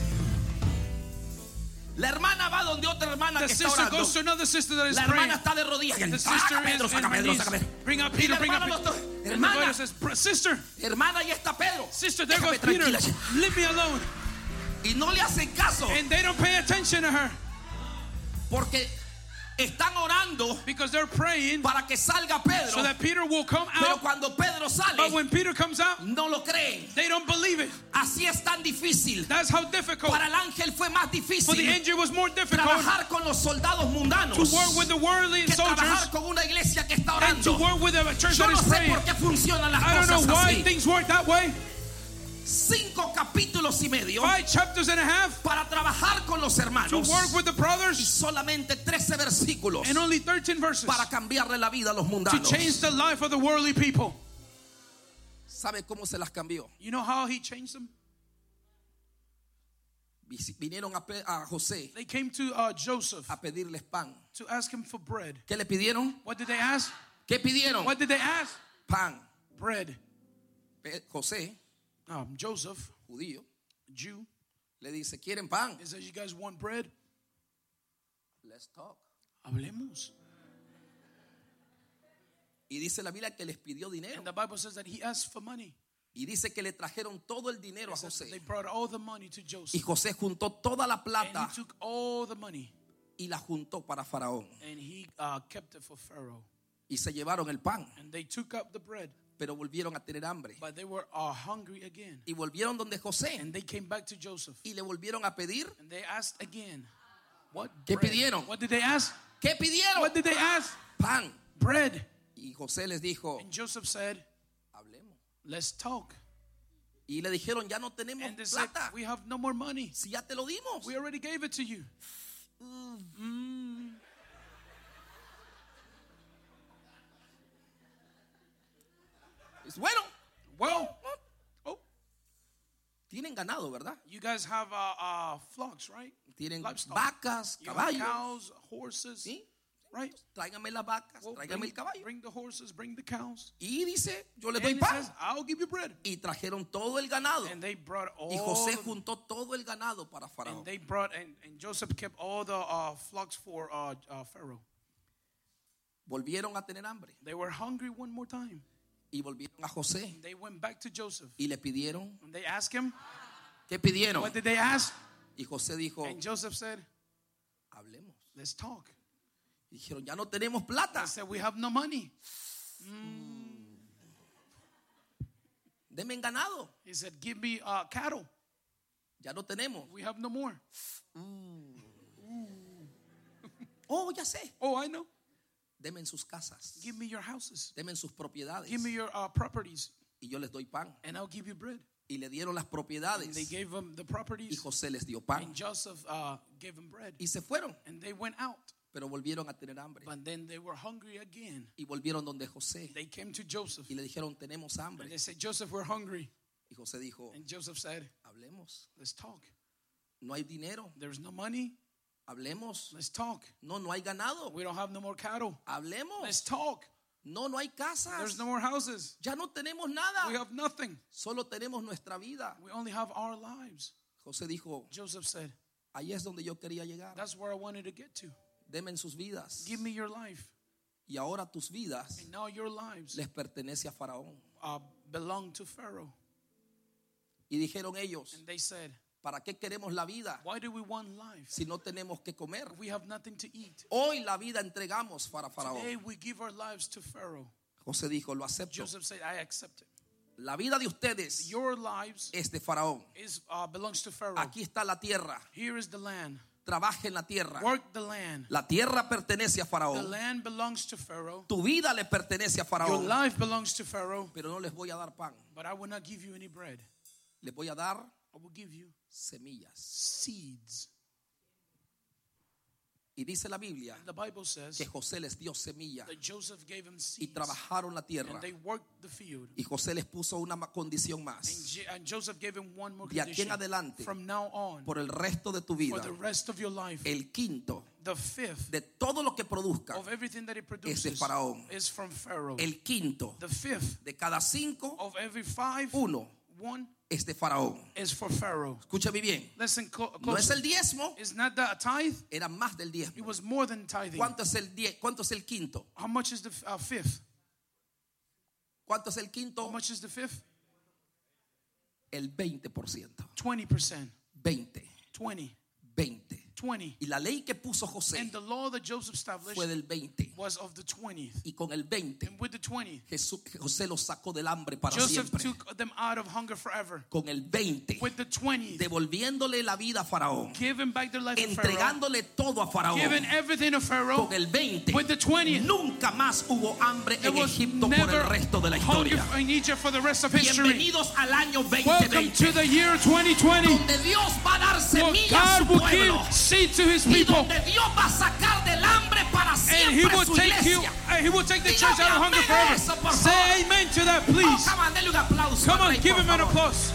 La hermana va donde otra hermana the que está sister orando. goes to another sister that is La praying. hermana está de rodillas. The Saca sister Pedro, is saca on her Pedro, knees. saca Pedro. Bring up Y Peter, la bring up hermana Peter. lo está- And the hermana, brother says, "Bro- sister, hermana, ahí está Pedro. sister, there Déjame goes Peter. tranquila. Leave me alone." Y no le hacen caso And they don't pay attention to her porque están orando because they're praying para que salga Pedro. so that Peter will come Pero out. cuando Pedro But sale, when Peter comes out, no lo creen. they don't believe it. Así es tan difícil. That's how difficult. Para el ángel fue más For the difícil angel was more difficult trabajar con los soldados mundanos to work with the worldly que soldiers trabajar con una iglesia que está and to orando. work with a church Yo that no is sé praying. por qué funcionan las I don't know cosas why así. things work that way. Cinco capítulos y medio Five chapters and a half para trabajar con los to hermanos work with the y brothers solamente trece versículos and only thirteen verses para cambiarle la vida a los to mundanos. change the life of the worldly people. ¿Sabe cómo se las cambió? You know how he changed them? Vinieron a, Pe- a José They came to uh, Joseph a pedirles pan. to ask him for bread. ¿Qué le pidieron? What did they ask? ¿Qué pidieron? What did they ask? Pan. Bread. Pe- José, Um, Joseph, judío, Jew, le dice, ¿quieren pan? he says, "You guys want bread? Let's talk. Hablemos." Y dice la Biblia que les pidió dinero. And the Bible says that he asked for money. Y dice que le trajeron todo el dinero a It says that they José. brought all the money to Y Joseph. José juntó toda la And plata he took all the money y la juntó para Faraón. and he uh, kept it for Pharaoh. Y se llevaron el pan, And they took up the bread, pero volvieron a tener hambre. but they were uh, hungry again. Y volvieron donde José And they came back to Joseph. y le volvieron a pedir. And they asked again, "What ¿Qué bread?" pidieron? What did they ask? ¿Qué pidieron? What did they ask? Pan. Bread. Y José les dijo, And Joseph said, hablemos. "Let's talk." Y le dijeron, ya no tenemos And they said, plata. "We have no more money. Si ya te lo dimos. We already gave it to you." Mm. Dice, bueno, Well, oh, tienen ganado, ¿verdad? you guys have uh, uh, flocks, right? Tienen Livestock. vacas, You have caballos. cows, horses, ¿Sí? right? Tráigame las vacas, Well, tráigame bring, el caballo. bring the horses, bring the cows. Y dice, yo le And doy he pan. says, "I'll give you bread." Y trajeron todo el ganado. And they brought all. Y José the- juntó todo el ganado para Faraón. and they brought and, and Joseph kept all the uh, flocks for uh, uh, Pharaoh. Volvieron a tener hambre. They were hungry one more time. Y volvieron a José. They went back to Joseph Y le pidieron. and they asked him, ¿Qué pidieron? "What did they ask?" Y José dijo, And Joseph said, hablemos. "Let's talk." Y dijeron, ya no tenemos plata. They said, "We have no money." Denme ganado. He said, "Give me uh, cattle. Ya no tenemos. We have no more." Oh, ya sé. Oh, I know. Denme en sus casas. Give me your houses. Denme en sus propiedades. Give me your uh, properties, Y yo les doy pan. and I'll give you bread. Y le dieron las And they propiedades. gave him the Y properties, José les dio pan. and Joseph uh, gave him bread. Y se fueron. And they went out, Pero volvieron a tener hambre. but then they were hungry again. Y volvieron donde José. They came to Joseph, Y le dijeron, tenemos and hambre. they said, "Joseph, we're hungry." Y José dijo, And Joseph said, hablemos. "Let's talk. No hay dinero. There's no money. Hablemos. Let's talk. No, no hay ganado. We don't have no more cattle. Let's Hablemos. talk. No, no hay casas. There's no more houses. Ya no tenemos We nada. have nothing. Solo tenemos nuestra vida. We only have our lives." José dijo, Joseph said, ahí es donde yo quería llegar. "That's where I wanted to get to. Denme en sus vidas. Give me your life." Y ahora tus vidas And now your lives les pertenece a Faraón. uh, belong to Pharaoh. Y dijeron ellos, And they said, ¿para qué queremos la vida why do we want life si no tenemos que comer? if we have nothing to eat? Hoy la vida entregamos para Today Faraón. we give our lives to Pharaoh. José dijo, lo acepto. Joseph said, I accept it. La vida de ustedes Your lives es de Faraón. is uh, belongs to Pharaoh. Aquí está la tierra. Here is the land. Trabaje en la tierra. Work the land. La tierra pertenece a The Faraón. land belongs to Pharaoh. Tu vida le pertenece a Your Faraón. life belongs to Pharaoh. Pero no les voy a dar pan. But I will not give you any bread. Les voy a dar I will give you semillas. seeds. Y dice la Biblia And the Bible says que José les dio semilla that Joseph gave him y seeds. trabajaron la tierra. And they worked the field. Y José les puso una ma- condición And, más. Je- and Joseph gave him one more De aquí en condition. adelante, From now on, por el resto de tu for vida, the rest of your life, el quinto the fifth de todo lo que produzca of everything that he es de produces Faraón. is from Pharaoh. El quinto The fifth de cada cinco, of every five, uno one es de Faraón. is for Pharaoh. Escúchame bien. Listen clo- No es closely. el diezmo, It's not that a tithe, era más del it diezmo. was more than tithing. ¿Cuánto es el die- ¿Cuánto es el quinto? How much is the uh, fifth? ¿Cuánto es el How quinto? much is the fifth? El veinte por ciento. twenty percent. veinte, twenty. veinte. twenty. Y la ley que puso José And the law that Joseph established fue del veinte. was of the twentieth. Y con el veinte, And with the twentieth, Jesús, José los sacó del hambre para Joseph siempre. took them out of hunger forever. Con el veinte, With the twentieth, devolviéndole la vida a Faraón, giving back their life to Pharaoh, entregándole todo a Faraón. giving everything to Pharaoh. Con el veinte, With the twentieth, nunca más hubo hambre there en was Egipto por never el resto de la hunger historia. in Egypt for the rest of history. Bienvenidos al año Welcome veinte veinte, to the year twenty twenty, donde Dios va a dar where semilla a su God will pueblo give seed to His y people, donde Dios va a sacar del hambre para and He siempre will su take you, iglesia. and He will take the Dígame church out of hunger amén a eso, forever. por Say favor. amen to that, Oh, please. come on, denle un aplauso. Come al on, rey, give por Him an favor. applause.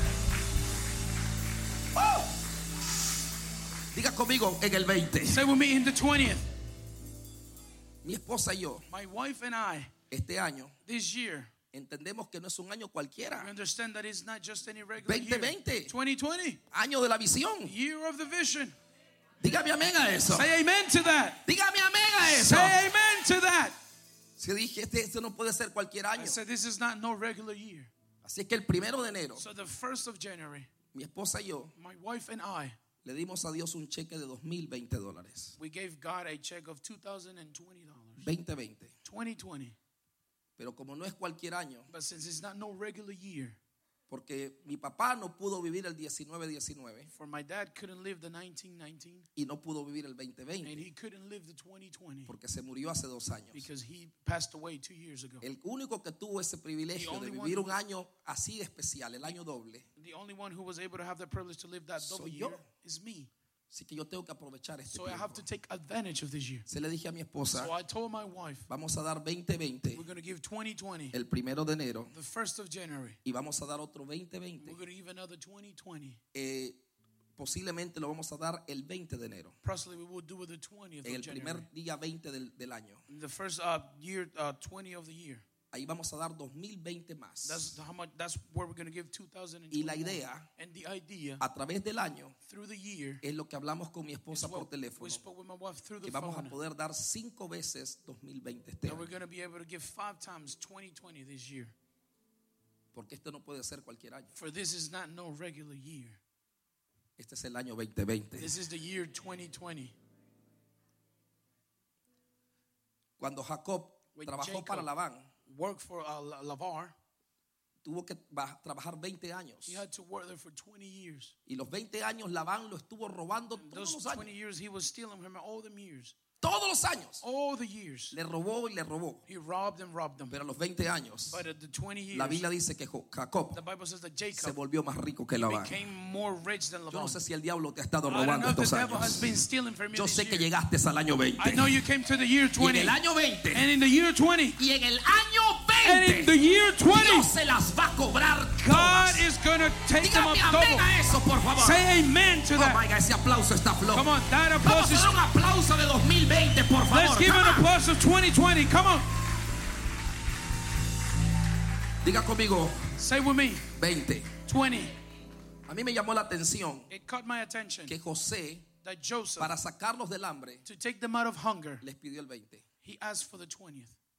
Oh. Diga conmigo en el veinte. Say with me in the twentieth. Mi esposa y yo, My wife and I, este año, this year, entendemos que no es un año we cualquiera. understand that it's not just any regular veinte year. veinte. twenty twenty, Año de la visión. year of the vision. Dígame amén a eso. Say amen to that. Dígame amén a eso. Say amen to that. Si dije, este, este no puede ser cualquier I año. said this is not no regular year. Así que el primero de enero, So the first of January, mi esposa y yo my wife and I, le dimos a Dios un cheque de dos mil veinte dólares. we gave God a check of two thousand twenty dollars. veinte veinte. twenty twenty. Pero como no es cualquier año, But since it's not no regular year, porque mi papá no pudo vivir el diecinueve diecinueve for my dad couldn't live the nineteen nineteen, y no pudo vivir el veinte and veinte he couldn't live the twenty twenty porque se murió hace dos años. because he passed away two years ago. El único que tuvo ese privilegio The de only vivir one- un año así de especial, el año doble, The only one who was able to have the privilege to live that double Soy yo. year is me. así que yo tengo que aprovechar este So I have tiempo. to take advantage of this year. Se le dije a mi esposa, So I told my wife, vamos a dar veinte veinte we're going to give twenty twenty el primero de enero the first of January. y vamos a dar otro veinte veinte. We're going to give another twenty twenty. Eh, posiblemente lo vamos a dar el veinte de enero, Possibly we will do it the twentieth en of el January. primer día veinte del, del año. The first uh, year, uh, twenty of the year. Ahí vamos a dar dos mil veinte más. That's how much. That's where we're going to give two thousand Y la twenty. idea, And the idea a través del año, through the year es lo que hablamos con mi is esposa por what we teléfono, spoke with my wife through the que vamos a phone. poder dar cinco veces dos mil veinte este That we're año, going to be able to give five times twenty twenty this year. porque esto no puede ser cualquier año. For this is not no regular year. Este es el año veinte veinte. This is the year twenty twenty. Cuando Jacob When trabajó Jacob- para Labán, Work for uh, La- Lavar. tuvo que ba- trabajar veinte años. He had to work there for twenty years. Y los veinte años Labán lo estuvo robando todos Those los años. twenty years he was stealing from him all them years. Todos los años. All the years. Le robó y le robó. He robbed and robbed them. Pero a los veinte años, But at the twenty years, la Biblia dice que Jo- Jacob the Bible says that se Jacob volvió más rico que Labán. became more rich than Yo Laban. no sé si el diablo te ha estado I don't robando know if the estos devil has años. been stealing from you Yo this sé que year. llegaste al año veinte. I know you came to the year Y en twenty. el año veinte And in the year twenty. y en el año And in the veinte year twenty. Dios se las va a cobrar God todas. is going to take them up Dígame amén double. a eso, por favor. Say amen to Oh that. my God, ese aplauso está flojo. Come on, that Vamos applause a is. dar un aplauso de dos mil veinte, por favor. Let's give Come an on. applause of twenty twenty. Come on. Diga conmigo, Say with me. veinte. twenty. A mí me llamó la atención It caught my attention que José, that Joseph, para sacarlos del hambre, to take them out of hunger, les pidió el veinte. he asked for the twentieth.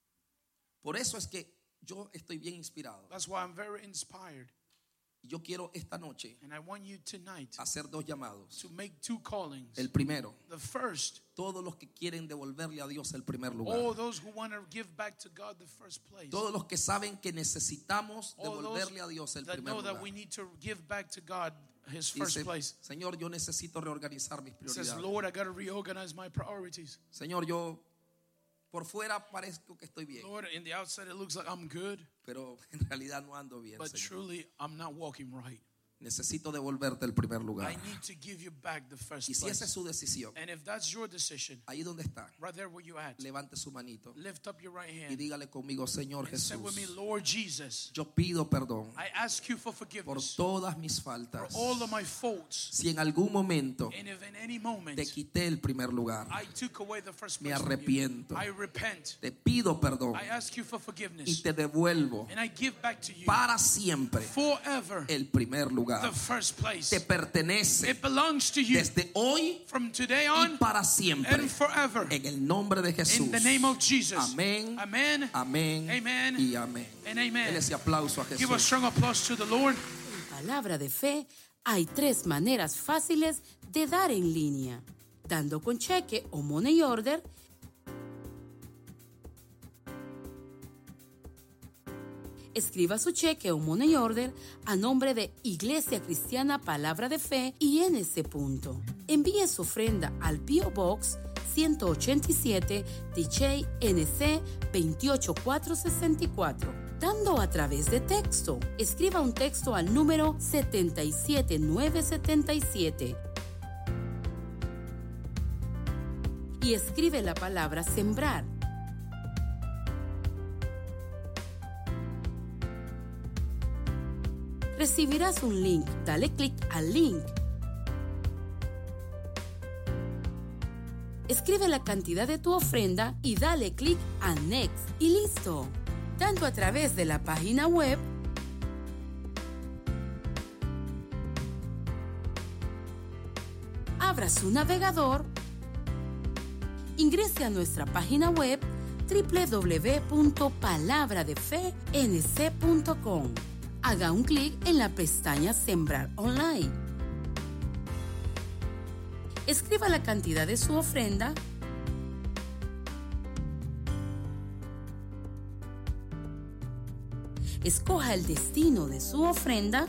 Por eso es que yo estoy bien inspirado. That's why I'm very inspired. Yo quiero esta noche And I want you tonight hacer dos llamados. to make two callings. El primero, The first, todos los que quieren devolverle a Dios el primer lugar. all those who want to give back to God the first place. Todos los que saben que necesitamos All those devolverle a Dios el that primer know that lugar. we need to give back to God His first Dice, place. Señor, yo necesito reorganizar mis Says, prioridades. Lord, I got to reorganize my priorities. Señor, yo por fuera parezco que estoy bien, Lord, in the outside it looks like I'm good, pero en realidad no ando bien, but Señor. truly I'm not walking right. Necesito devolverte el primer lugar. I need to give you back the first Y si esa es place. su decisión, And if that's your decision, ahí donde está, right there where you at, levante su manito lift up your right y hand dígale conmigo, Señor and say with me, Jesús, Lord Jesus, yo pido perdón I ask you for por forgiveness todas mis for faltas. all of my faults. Si en algún momento And if in any moment te quité el primer lugar, I took away the first me place from you, arrepiento. I repent. Te pido perdón I ask you for y forgiveness. te devuelvo And I give back to you para siempre forever el primer lugar. the first place. Te pertenece It belongs to you desde hoy from today y on para siempre. and forever. En el nombre de Jesús. In the name of Jesus. Amén. Amen. Amén. Amen. Y amén. And amen. Dele ese aplauso a Give a Jesús. strong applause to the Lord. En Palabra de Fe hay tres maneras fáciles de dar en línea: dando con cheque o money order, escriba su cheque o money order a nombre de Iglesia Cristiana Palabra de Fe y en ese punto. Envíe su ofrenda al P O Box ciento ochenta y siete D J N C veintiocho mil cuatrocientos sesenta y cuatro. Dando a través de texto, escriba un texto al número setenta y siete mil novecientos setenta y siete y escribe la palabra sembrar. Recibirás un link. Dale clic al link. Escribe la cantidad de tu ofrenda y dale clic a Next y listo. Tanto a través de la página web abra su navegador, ingrese a nuestra página web doble u doble u doble u punto palabra de fe n c punto com. Haga un clic en la pestaña Sembrar Online. Escriba la cantidad de su ofrenda. Escoja el destino de su ofrenda.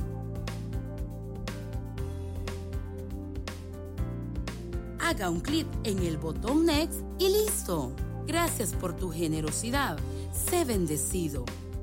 Haga un clic en el botón Next y listo. Gracias por tu generosidad. Sé bendecido.